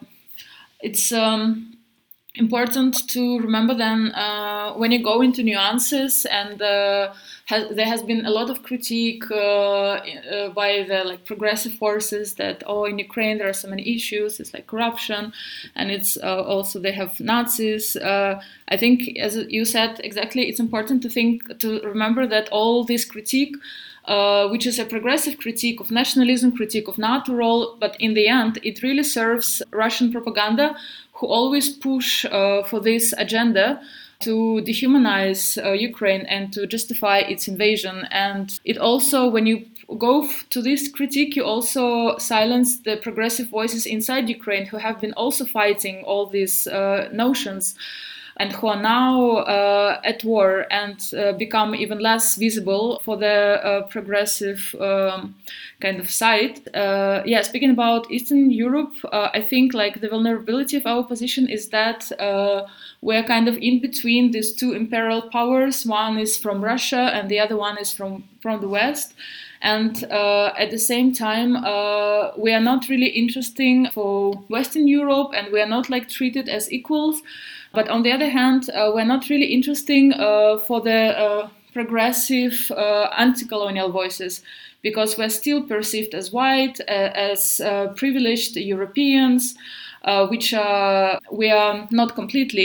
it's um, important to remember then uh, when you go into nuances, and uh, has, there has been a lot of critique uh, uh, by the like progressive forces that, oh, in Ukraine there are so many issues, it's like corruption, and it's uh, also they have Nazis. Uh, I think, as you said exactly, it's important to think, to remember that all this critique, uh, which is a progressive critique of nationalism, critique of NATO role, but in the end it really serves Russian propaganda, who always push uh, for this agenda to dehumanize uh, Ukraine and to justify its invasion. And it also, when you go f- to this critique, you also silence the progressive voices inside Ukraine who have been also fighting all these uh, notions, and who are now uh, at war and uh, become even less visible for the uh, progressive um, kind of side. Uh, yeah, speaking about Eastern Europe, uh, I think like the vulnerability of our position is that uh, we're kind of in between these two imperial powers. One is from Russia and the other one is from, from the West. And uh, at the same time, uh, we are not really interesting for Western Europe, and we are not like treated as equals. But on the other hand, uh, we're not really interesting uh, for the uh, progressive uh, anti-colonial voices, because we're still perceived as white, uh, as uh, privileged Europeans, uh, which uh, we are not completely.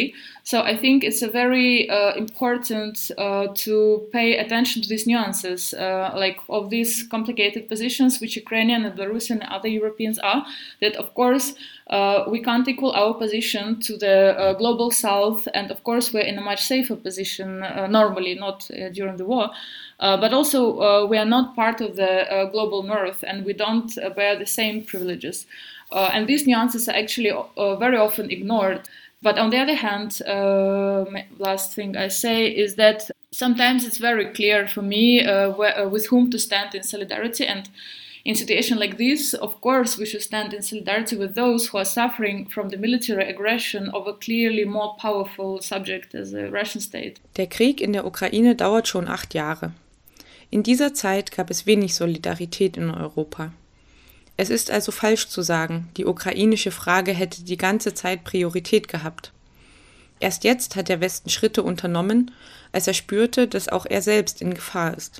So I think it's a very uh, important uh, to pay attention to these nuances, uh, like of these complicated positions which Ukrainian and Belarusian and other Europeans are, that of course uh, we can't equal our position to the uh, global south, and of course we're in a much safer position uh, normally, not uh, during the war, uh, but also uh, we are not part of the uh, global north and we don't uh, bear the same privileges. Uh, and these nuances are actually uh, very often ignored. But on the other hand, uh, last thing I say is that sometimes it's very clear for me uh, where, uh, with whom to stand in solidarity. And in a situation like this, of course, we should stand in solidarity with those who are suffering from the military aggression of a clearly more powerful subject as the Russian state. Der Krieg in der Ukraine dauert schon acht Jahre. In dieser Zeit gab es wenig Solidarität in Europa. Es ist also falsch zu sagen, die ukrainische Frage hätte die ganze Zeit Priorität gehabt. Erst jetzt hat der Westen Schritte unternommen, als er spürte, dass auch er selbst in Gefahr ist.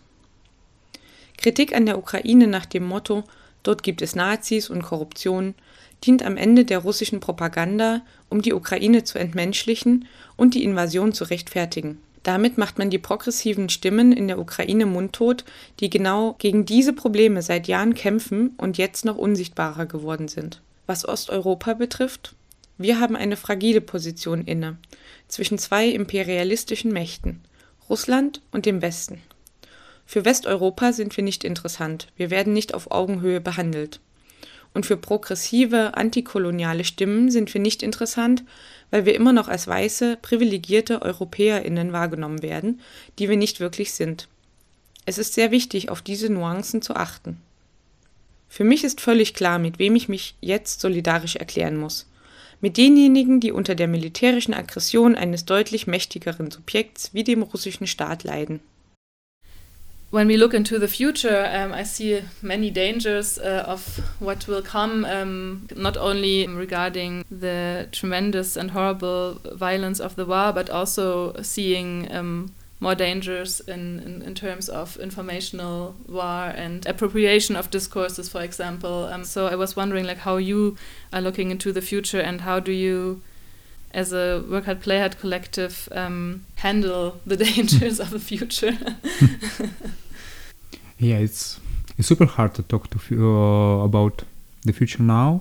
Kritik an der Ukraine nach dem Motto, dort gibt es Nazis und Korruption, dient am Ende der russischen Propaganda, um die Ukraine zu entmenschlichen und die Invasion zu rechtfertigen. Damit macht man die progressiven Stimmen in der Ukraine mundtot, die genau gegen diese Probleme seit Jahren kämpfen und jetzt noch unsichtbarer geworden sind. Was Osteuropa betrifft, wir haben eine fragile Position inne, zwischen zwei imperialistischen Mächten, Russland und dem Westen. Für Westeuropa sind wir nicht interessant, wir werden nicht auf Augenhöhe behandelt. Und für progressive, antikoloniale Stimmen sind wir nicht interessant, weil wir immer noch als weiße, privilegierte EuropäerInnen wahrgenommen werden, die wir nicht wirklich sind. Es ist sehr wichtig, auf diese Nuancen zu achten. Für mich ist völlig klar, mit wem ich mich jetzt solidarisch erklären muss. Mit denjenigen, die unter der militärischen Aggression eines deutlich mächtigeren Subjekts wie dem russischen Staat leiden. When we look into the future, um, I see many dangers uh, of what will come, um, not only regarding the tremendous and horrible violence of the war, but also seeing um, more dangers in, in, in terms of informational war and appropriation of discourses, for example. Um, so I was wondering, like, how you are looking into the future and how do you, as a Work Hard Play Hard collective, um, handle the dangers of the future? Yeah, it's it's super hard to talk to uh, about the future now.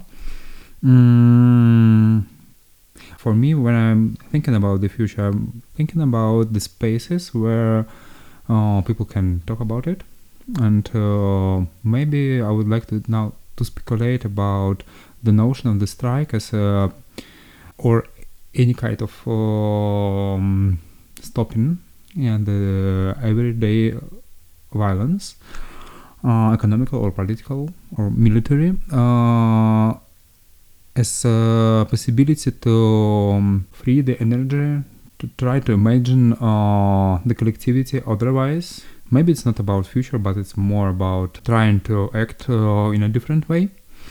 Mm, for me, when I'm thinking about the future, I'm thinking about the spaces where uh, people can talk about it, and uh, maybe I would like to now to speculate about the notion of the strike as a or any kind of um, stopping and the everyday violence, uh, economical or political or military, uh, as a possibility to um, free the energy to try to imagine uh, the collectivity otherwise. Maybe it's not about future, but it's more about trying to act uh, in a different way.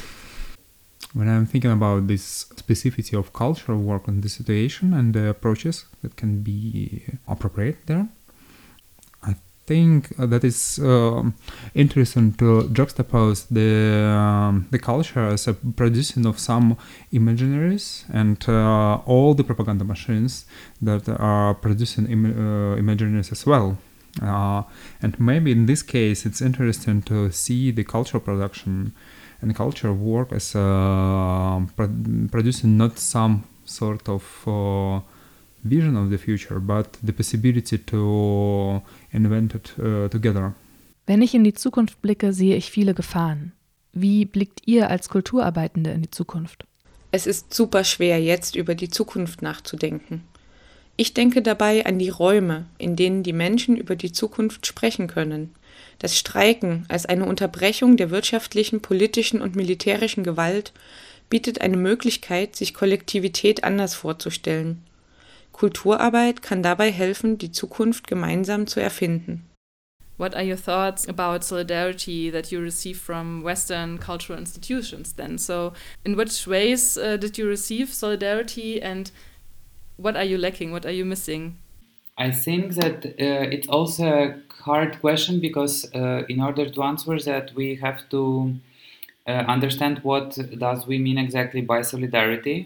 When I'm thinking about this specificity of cultural work in this situation and the approaches that can be appropriate there, I think that it's uh, interesting to juxtapose the um, the culture as a producing of some imaginaries and uh, all the propaganda machines that are producing Im- uh, imaginaries as well. Uh, and maybe in this case it's interesting to see the cultural production and cultural work as uh, pro- producing not some sort of uh, vision of the future, but the possibility to invent it uh, together. Wenn ich in die Zukunft blicke, sehe ich viele Gefahren. Wie blickt ihr als Kulturarbeitende in die Zukunft? Es ist super schwer, jetzt über die Zukunft nachzudenken. Ich denke dabei an die Räume, in denen die Menschen über die Zukunft sprechen können. Das Streiken als eine Unterbrechung der wirtschaftlichen, politischen und militärischen Gewalt bietet eine Möglichkeit, sich Kollektivität anders vorzustellen. Kulturarbeit kann dabei helfen, die Zukunft gemeinsam zu erfinden. What are your thoughts about solidarity that you receive from Western cultural institutions then? So in which ways uh, did you receive solidarity and what are you lacking? What are you missing? I think that uh, it's also a hard question because uh, in order to answer that we have to uh, understand what does we mean exactly by solidarity.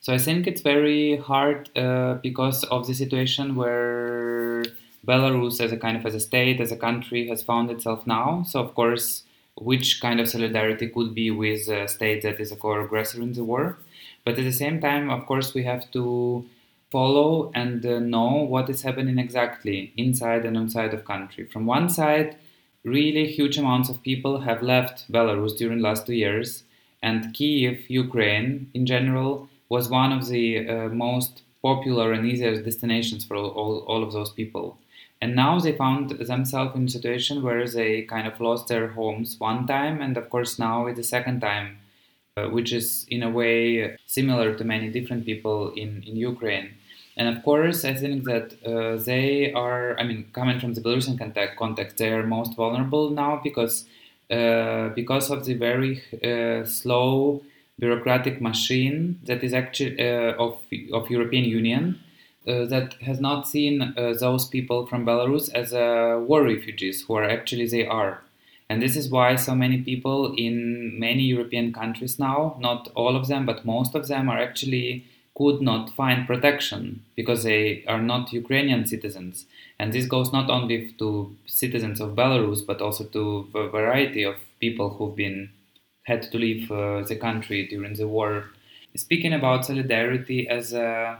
So I think it's very hard uh, because of the situation where Belarus as a kind of as a state, as a country has found itself now. So of course, which kind of solidarity could be with a state that is a co-aggressor in the war. But at the same time, of course, we have to follow and uh, know what is happening exactly inside and outside of country. From one side, really huge amounts of people have left Belarus during the last two years, and Kyiv, Ukraine in general, was one of the uh, most popular and easiest destinations for all, all, all of those people. And now they found themselves in a situation where they kind of lost their homes one time, and of course now it's the second time, uh, which is in a way similar to many different people in, in Ukraine. And of course, I think that uh, they are, I mean, coming from the Belarusian context, context they are most vulnerable now because uh, because of the very uh, slow bureaucratic machine that is actually uh, of of European Union uh, that has not seen uh, those people from Belarus as uh, war refugees, who are actually they are. And this is why so many people in many European countries now, not all of them, but most of them are actually could not find protection because they are not Ukrainian citizens. And this goes not only to citizens of Belarus, but also to a variety of people who've been had to leave uh, the country during the war. Speaking about solidarity as a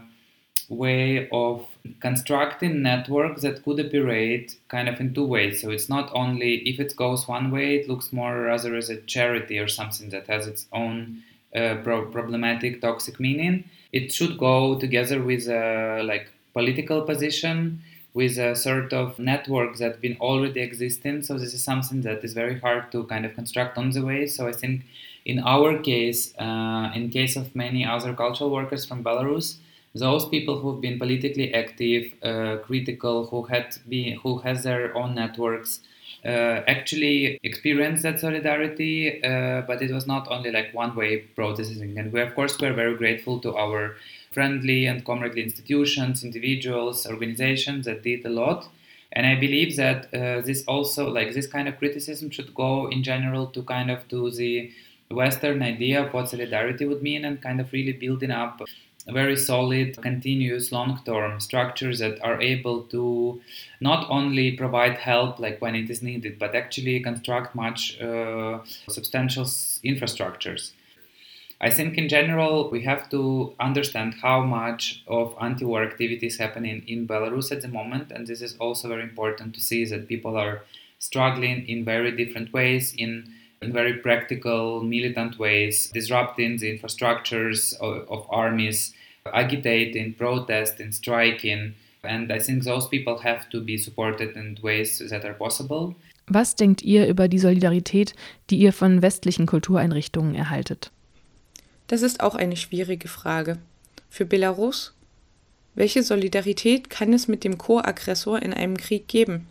way of constructing networks that could operate kind of in two ways. So it's not only, if it goes one way, it looks more rather as a charity or something that has its own uh, pro- problematic, toxic meaning. It should go together with a like political position, with a sort of network that's been already existing. So this is something that is very hard to kind of construct on the way. So I think in our case, uh, in case of many other cultural workers from Belarus, those people who've been politically active, uh, critical, who had been, who has their own networks, uh, actually experienced that solidarity. Uh, but it was not only like one-way protesting. And we, of course, we're very grateful to our friendly and comradely institutions, individuals, organizations that did a lot. And I believe that uh, this also, like this kind of criticism should go in general to kind of to the Western idea of what solidarity would mean and kind of really building up very solid, continuous, long-term structures that are able to not only provide help like when it is needed, but actually construct much uh, substantial infrastructures. I think in general, we have to understand how much of anti-war activity is happening in Belarus at the moment. And this is also very important to see that people are struggling in very different ways, in, in very practical, militant ways, disrupting the infrastructures of, of armies, agitating, protesting, striking. And I think those people have to be supported in ways that are possible. Was denkt ihr über die Solidarität, die ihr von westlichen Kultureinrichtungen erhaltet? Das ist auch eine schwierige Frage. Für Belarus? Welche Solidarität kann es mit dem Co-Aggressor in einem Krieg geben?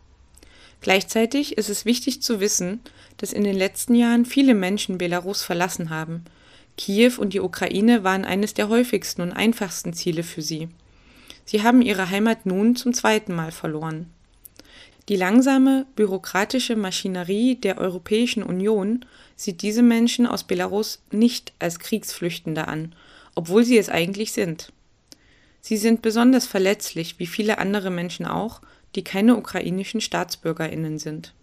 Gleichzeitig ist es wichtig zu wissen, dass in den letzten Jahren viele Menschen Belarus verlassen haben. Kiew und die Ukraine waren eines der häufigsten und einfachsten Ziele für sie. Sie haben ihre Heimat nun zum zweiten Mal verloren. Die langsame, bürokratische Maschinerie der Europäischen Union sieht diese Menschen aus Belarus nicht als Kriegsflüchtende an, obwohl sie es eigentlich sind. Sie sind besonders verletzlich, wie viele andere Menschen auch, die keine ukrainischen StaatsbürgerInnen sind.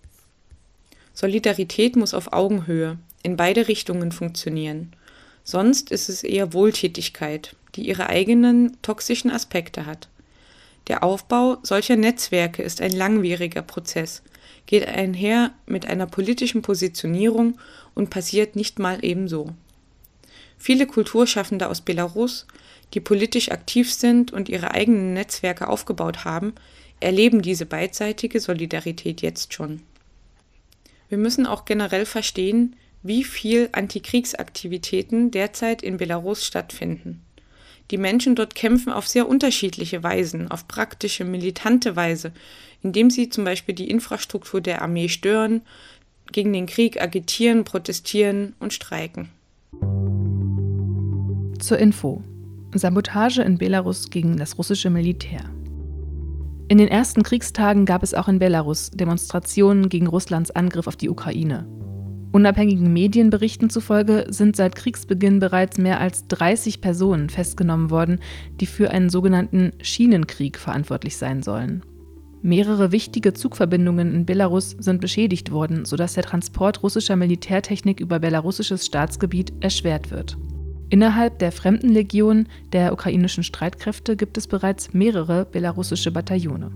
Solidarität muss auf Augenhöhe, in beide Richtungen funktionieren. Sonst ist es eher Wohltätigkeit, die ihre eigenen toxischen Aspekte hat. Der Aufbau solcher Netzwerke ist ein langwieriger Prozess, geht einher mit einer politischen Positionierung und passiert nicht mal ebenso. Viele Kulturschaffende aus Belarus, die politisch aktiv sind und ihre eigenen Netzwerke aufgebaut haben, erleben diese beidseitige Solidarität jetzt schon. Wir müssen auch generell verstehen, wie viel Antikriegsaktivitäten derzeit in Belarus stattfinden. Die Menschen dort kämpfen auf sehr unterschiedliche Weisen, auf praktische, militante Weise, indem sie zum Beispiel die Infrastruktur der Armee stören, gegen den Krieg agitieren, protestieren und streiken. Zur Info: Sabotage in Belarus gegen das russische Militär. In den ersten Kriegstagen gab es auch in Belarus Demonstrationen gegen Russlands Angriff auf die Ukraine. Unabhängigen Medienberichten zufolge sind seit Kriegsbeginn bereits mehr als dreißig Personen festgenommen worden, die für einen sogenannten Schienenkrieg verantwortlich sein sollen. Mehrere wichtige Zugverbindungen in Belarus sind beschädigt worden, sodass der Transport russischer Militärtechnik über belarussisches Staatsgebiet erschwert wird. Innerhalb der Fremdenlegion der ukrainischen Streitkräfte gibt es bereits mehrere belarussische Bataillone.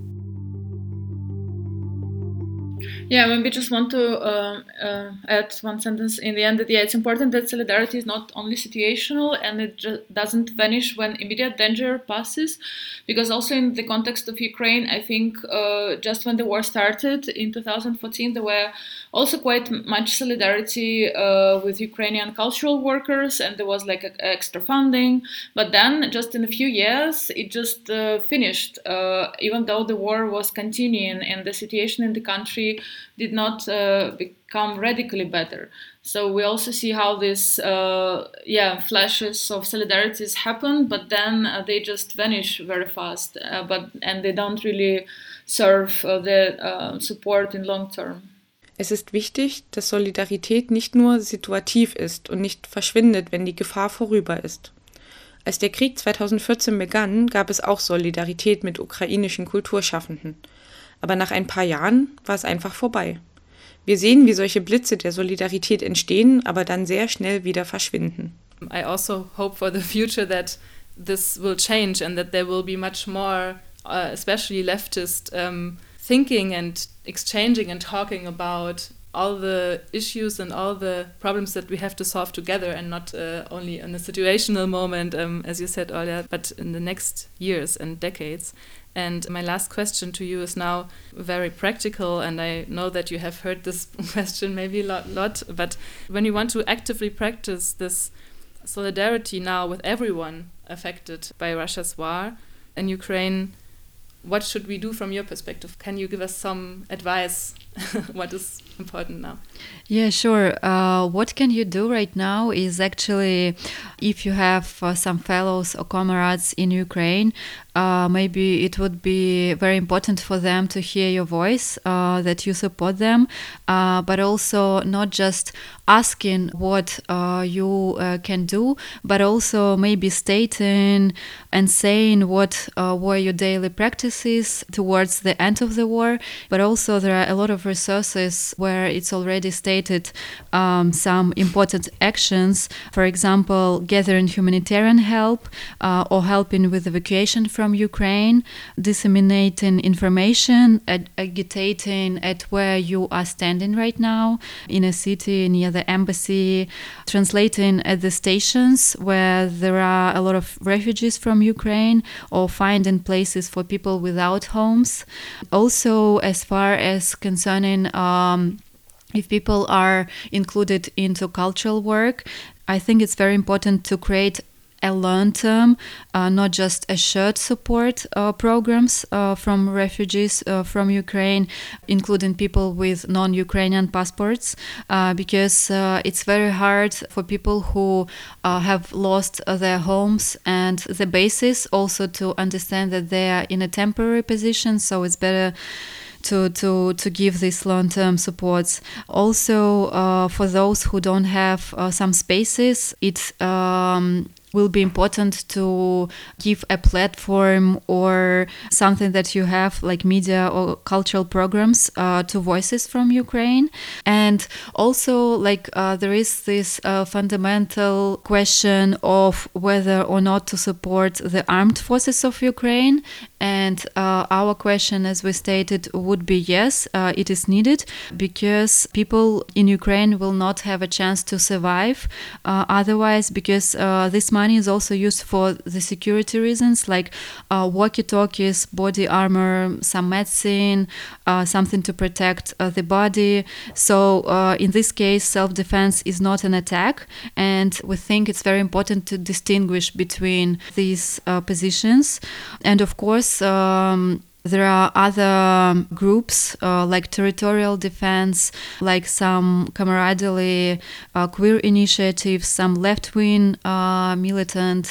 Yeah, maybe just want to uh, uh, add one sentence in the end that yeah, it's important that solidarity is not only situational and it just doesn't vanish when immediate danger passes, because also in the context of Ukraine, I think uh, just when the war started in two thousand fourteen, there were also quite much solidarity uh, with Ukrainian cultural workers, and there was like a, a extra funding. But then, just in a few years, it just uh, finished, uh, even though the war was continuing and the situation in the country did not uh, become radically better. So we also see how these uh, yeah, flashes of solidarities happen, but then uh, they just vanish very fast, uh, but and they don't really serve uh, the uh, support in long term. Es ist wichtig, dass Solidarität nicht nur situativ ist und nicht verschwindet, wenn die Gefahr vorüber ist. Als der Krieg zweitausendvierzehn begann, gab es auch Solidarität mit ukrainischen Kulturschaffenden. Aber nach ein paar Jahren war es einfach vorbei. Wir sehen, wie solche Blitze der Solidarität entstehen, aber dann sehr schnell wieder verschwinden. I also hope for the future that this will change and that there will be much more, uh, especially leftist um, thinking and exchanging and talking about all the issues and all the problems that we have to solve together and not uh, only in a situational moment, um, as you said earlier, but in the next years and decades. And my last question to you is now very practical, and I know that you have heard this question maybe a lot, lot, but when you want to actively practice this solidarity now with everyone affected by Russia's war in Ukraine, what should we do from your perspective? Can you give us some advice? What is important now? Yeah, sure. Uh, what can you do right now is actually, if you have uh, some fellows or comrades in Ukraine, uh, maybe it would be very important for them to hear your voice, uh, that you support them, uh, but also not just asking what uh, you uh, can do, but also maybe stating and saying what uh, were your daily practices towards the end of the war. But also there are a lot of resources where it's already stated um, some important actions, for example, gathering humanitarian help uh, or helping with evacuation from Ukraine, disseminating information, ag- agitating at where you are standing right now in a city near the embassy, translating at the stations where there are a lot of refugees from Ukraine, or finding places for people without homes. Also, as far as concerning um, if people are included into cultural work, I think it's very important to create a long-term, uh, not just a short support uh, programs uh, from refugees uh, from Ukraine, including people with non-Ukrainian passports, uh, because uh, it's very hard for people who uh, have lost uh, their homes and the basis, also to understand that they are in a temporary position, so it's better to to to give these long-term supports. Also, uh, for those who don't have uh, some spaces, it um, will be important to give a platform or something that you have, like media or cultural programs, uh, to voices from Ukraine. And also, like uh, there is this uh, fundamental question of whether or not to support the armed forces of Ukraine. And uh, our question, as we stated, would be yes, uh, it is needed, because people in Ukraine will not have a chance to survive uh, otherwise, because uh, this money is also used for the security reasons, like uh, walkie-talkies, body armor, some medicine, uh, something to protect uh, the body. So uh, in this case, self-defense is not an attack, and we think it's very important to distinguish between these uh, positions. And of course, um, there are other groups uh, like territorial defense, like some camaraderie, uh, queer initiatives, some left-wing uh, militant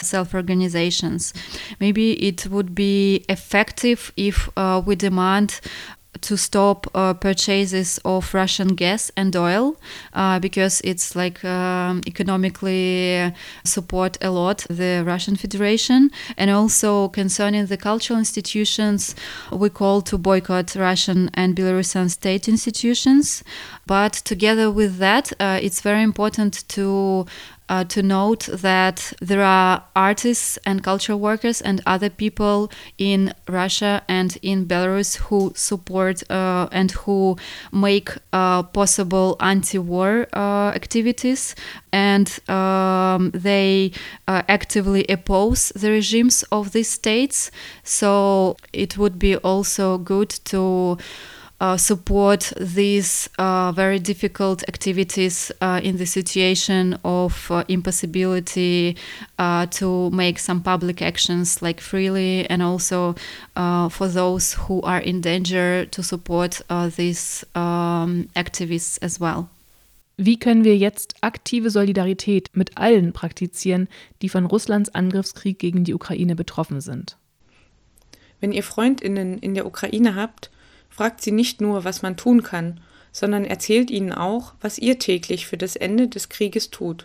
self-organizations. Maybe it would be effective if uh, we demand to stop uh, purchases of Russian gas and oil uh, because it's like um, economically support a lot the Russian Federation. And also concerning the cultural institutions, we call to boycott Russian and Belarusian state institutions. But together with that, uh, it's very important to Uh, to note that there are artists and cultural workers and other people in Russia and in Belarus who support uh, and who make uh, possible anti-war uh, activities, and um, they uh, actively oppose the regimes of these states. So it would be also good to Uh, support these uh, very difficult activities uh, in the situation of uh, impossibility uh, to make some public actions like freely, and also uh, for those who are in danger to support uh, these um, activists as well. Wie können wir jetzt aktive Solidarität mit allen praktizieren, die von Russlands Angriffskrieg gegen die Ukraine betroffen sind? Wenn ihr FreundInnen in der Ukraine habt, fragt sie nicht nur, was man tun kann, sondern erzählt ihnen auch, was ihr täglich für das Ende des Krieges tut.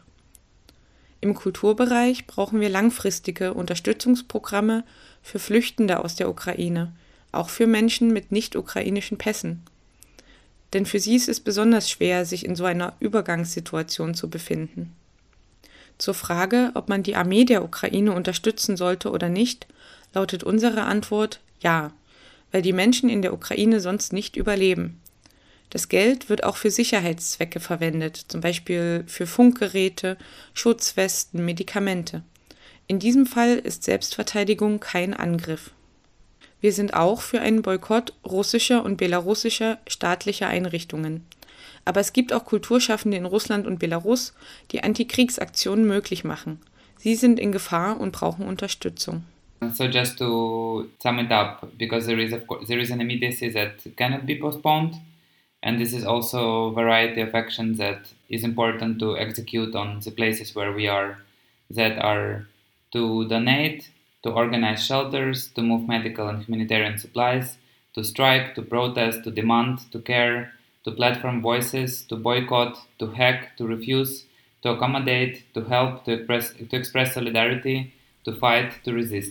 Im Kulturbereich brauchen wir langfristige Unterstützungsprogramme für Flüchtende aus der Ukraine, auch für Menschen mit nicht-ukrainischen Pässen. Denn für sie ist es besonders schwer, sich in so einer Übergangssituation zu befinden. Zur Frage, ob man die Armee der Ukraine unterstützen sollte oder nicht, lautet unsere Antwort ja, weil die Menschen in der Ukraine sonst nicht überleben. Das Geld wird auch für Sicherheitszwecke verwendet, zum Beispiel für Funkgeräte, Schutzwesten, Medikamente. In diesem Fall ist Selbstverteidigung kein Angriff. Wir sind auch für einen Boykott russischer und belarussischer staatlicher Einrichtungen. Aber es gibt auch Kulturschaffende in Russland und Belarus, die Antikriegsaktionen möglich machen. Sie sind in Gefahr und brauchen Unterstützung. So just to sum it up, because there is of course, there is an immediacy that cannot be postponed, and this is also a variety of actions that is important to execute on the places where we are, that are to donate, to organize shelters, to move medical and humanitarian supplies, to strike, to protest, to demand, to care, to platform voices, to boycott, to hack, to refuse, to accommodate, to help, to express, to express solidarity, to fight, to resist.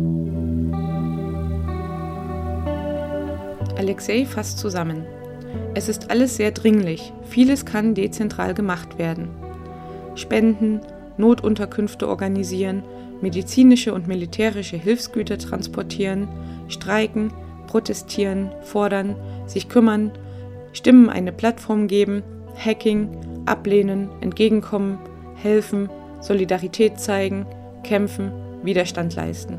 Alexei fasst zusammen. Es ist alles sehr dringlich. Vieles kann dezentral gemacht werden. Spenden, Notunterkünfte organisieren, medizinische und militärische Hilfsgüter transportieren, streiken, protestieren, fordern, sich kümmern, Stimmen eine Plattform geben, Hacking, ablehnen, entgegenkommen, helfen, Solidarität zeigen, kämpfen, Widerstand leisten.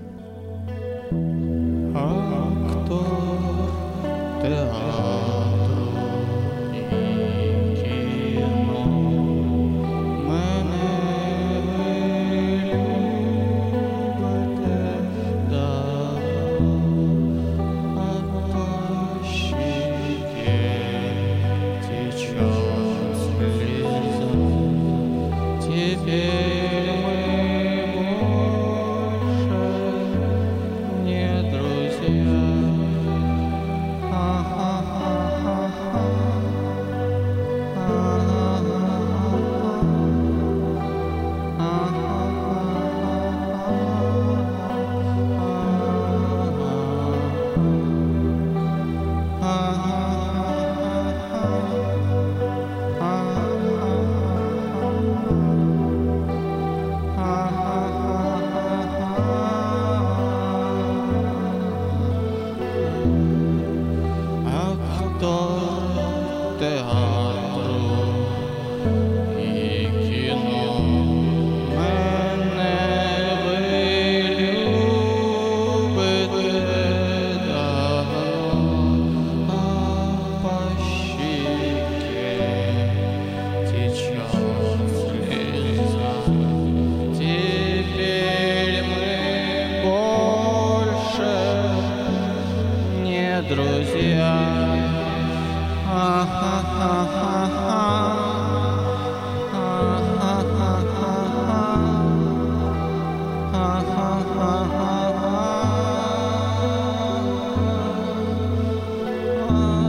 Ah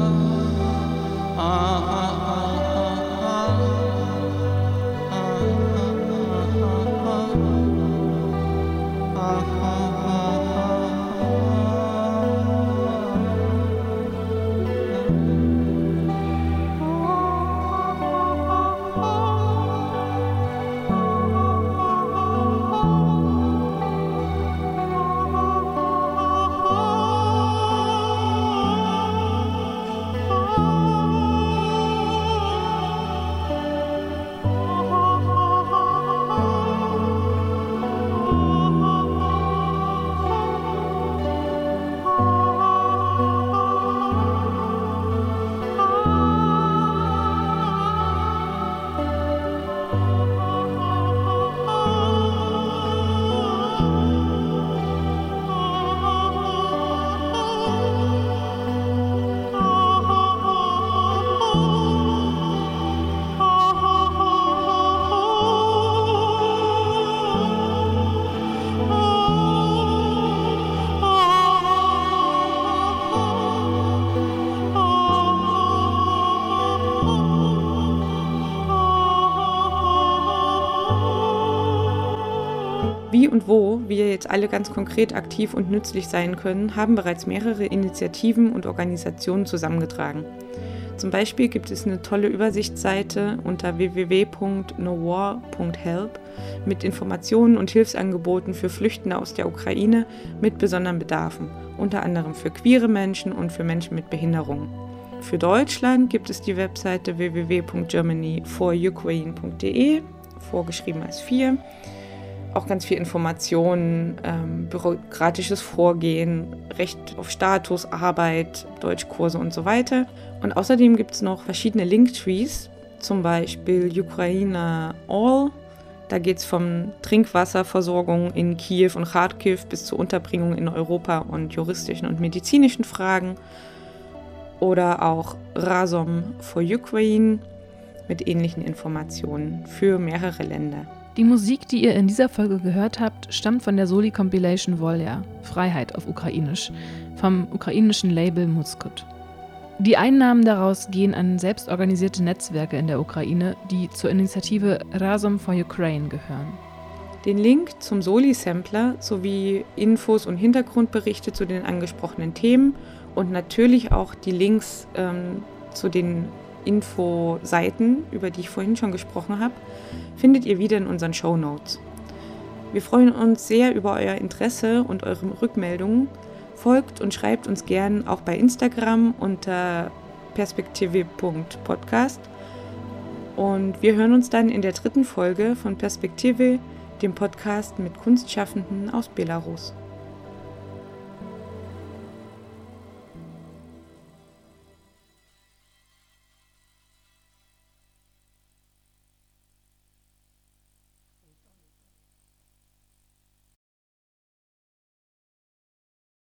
Wie und wo wir jetzt alle ganz konkret aktiv und nützlich sein können, haben bereits mehrere Initiativen und Organisationen zusammengetragen. Zum Beispiel gibt es eine tolle Übersichtsseite unter w w w punkt no war punkt help mit Informationen und Hilfsangeboten für Flüchtende aus der Ukraine mit besonderen Bedarfen, unter anderem für queere Menschen und für Menschen mit Behinderungen. Für Deutschland gibt es die Webseite w w w punkt germany for ukraine punkt d e, vorgeschrieben als vier. Auch ganz viel Informationen, ähm, bürokratisches Vorgehen, Recht auf Status, Arbeit, Deutschkurse und so weiter. Und außerdem gibt es noch verschiedene Linktrees, zum Beispiel Ukraine All. Da geht es von Trinkwasserversorgung in Kiew und Kharkiv bis zur Unterbringung in Europa und juristischen und medizinischen Fragen. Oder auch Razom for Ukraine mit ähnlichen Informationen für mehrere Länder. Die Musik, die ihr in dieser Folge gehört habt, stammt von der Soli-Compilation Volja, Freiheit auf Ukrainisch, vom ukrainischen Label Muskut. Die Einnahmen daraus gehen an selbstorganisierte Netzwerke in der Ukraine, die zur Initiative Razom for Ukraine gehören. Den Link zum Soli-Sampler sowie Infos und Hintergrundberichte zu den angesprochenen Themen und natürlich auch die Links ähm, zu den Infoseiten, über die ich vorhin schon gesprochen habe, findet ihr wieder in unseren Shownotes. Wir freuen uns sehr über euer Interesse und eure Rückmeldungen. Folgt und schreibt uns gern auch bei Instagram unter perspektive punkt podcast. Und wir hören uns dann in der dritten Folge von Perspektive, dem Podcast mit Kunstschaffenden aus Belarus.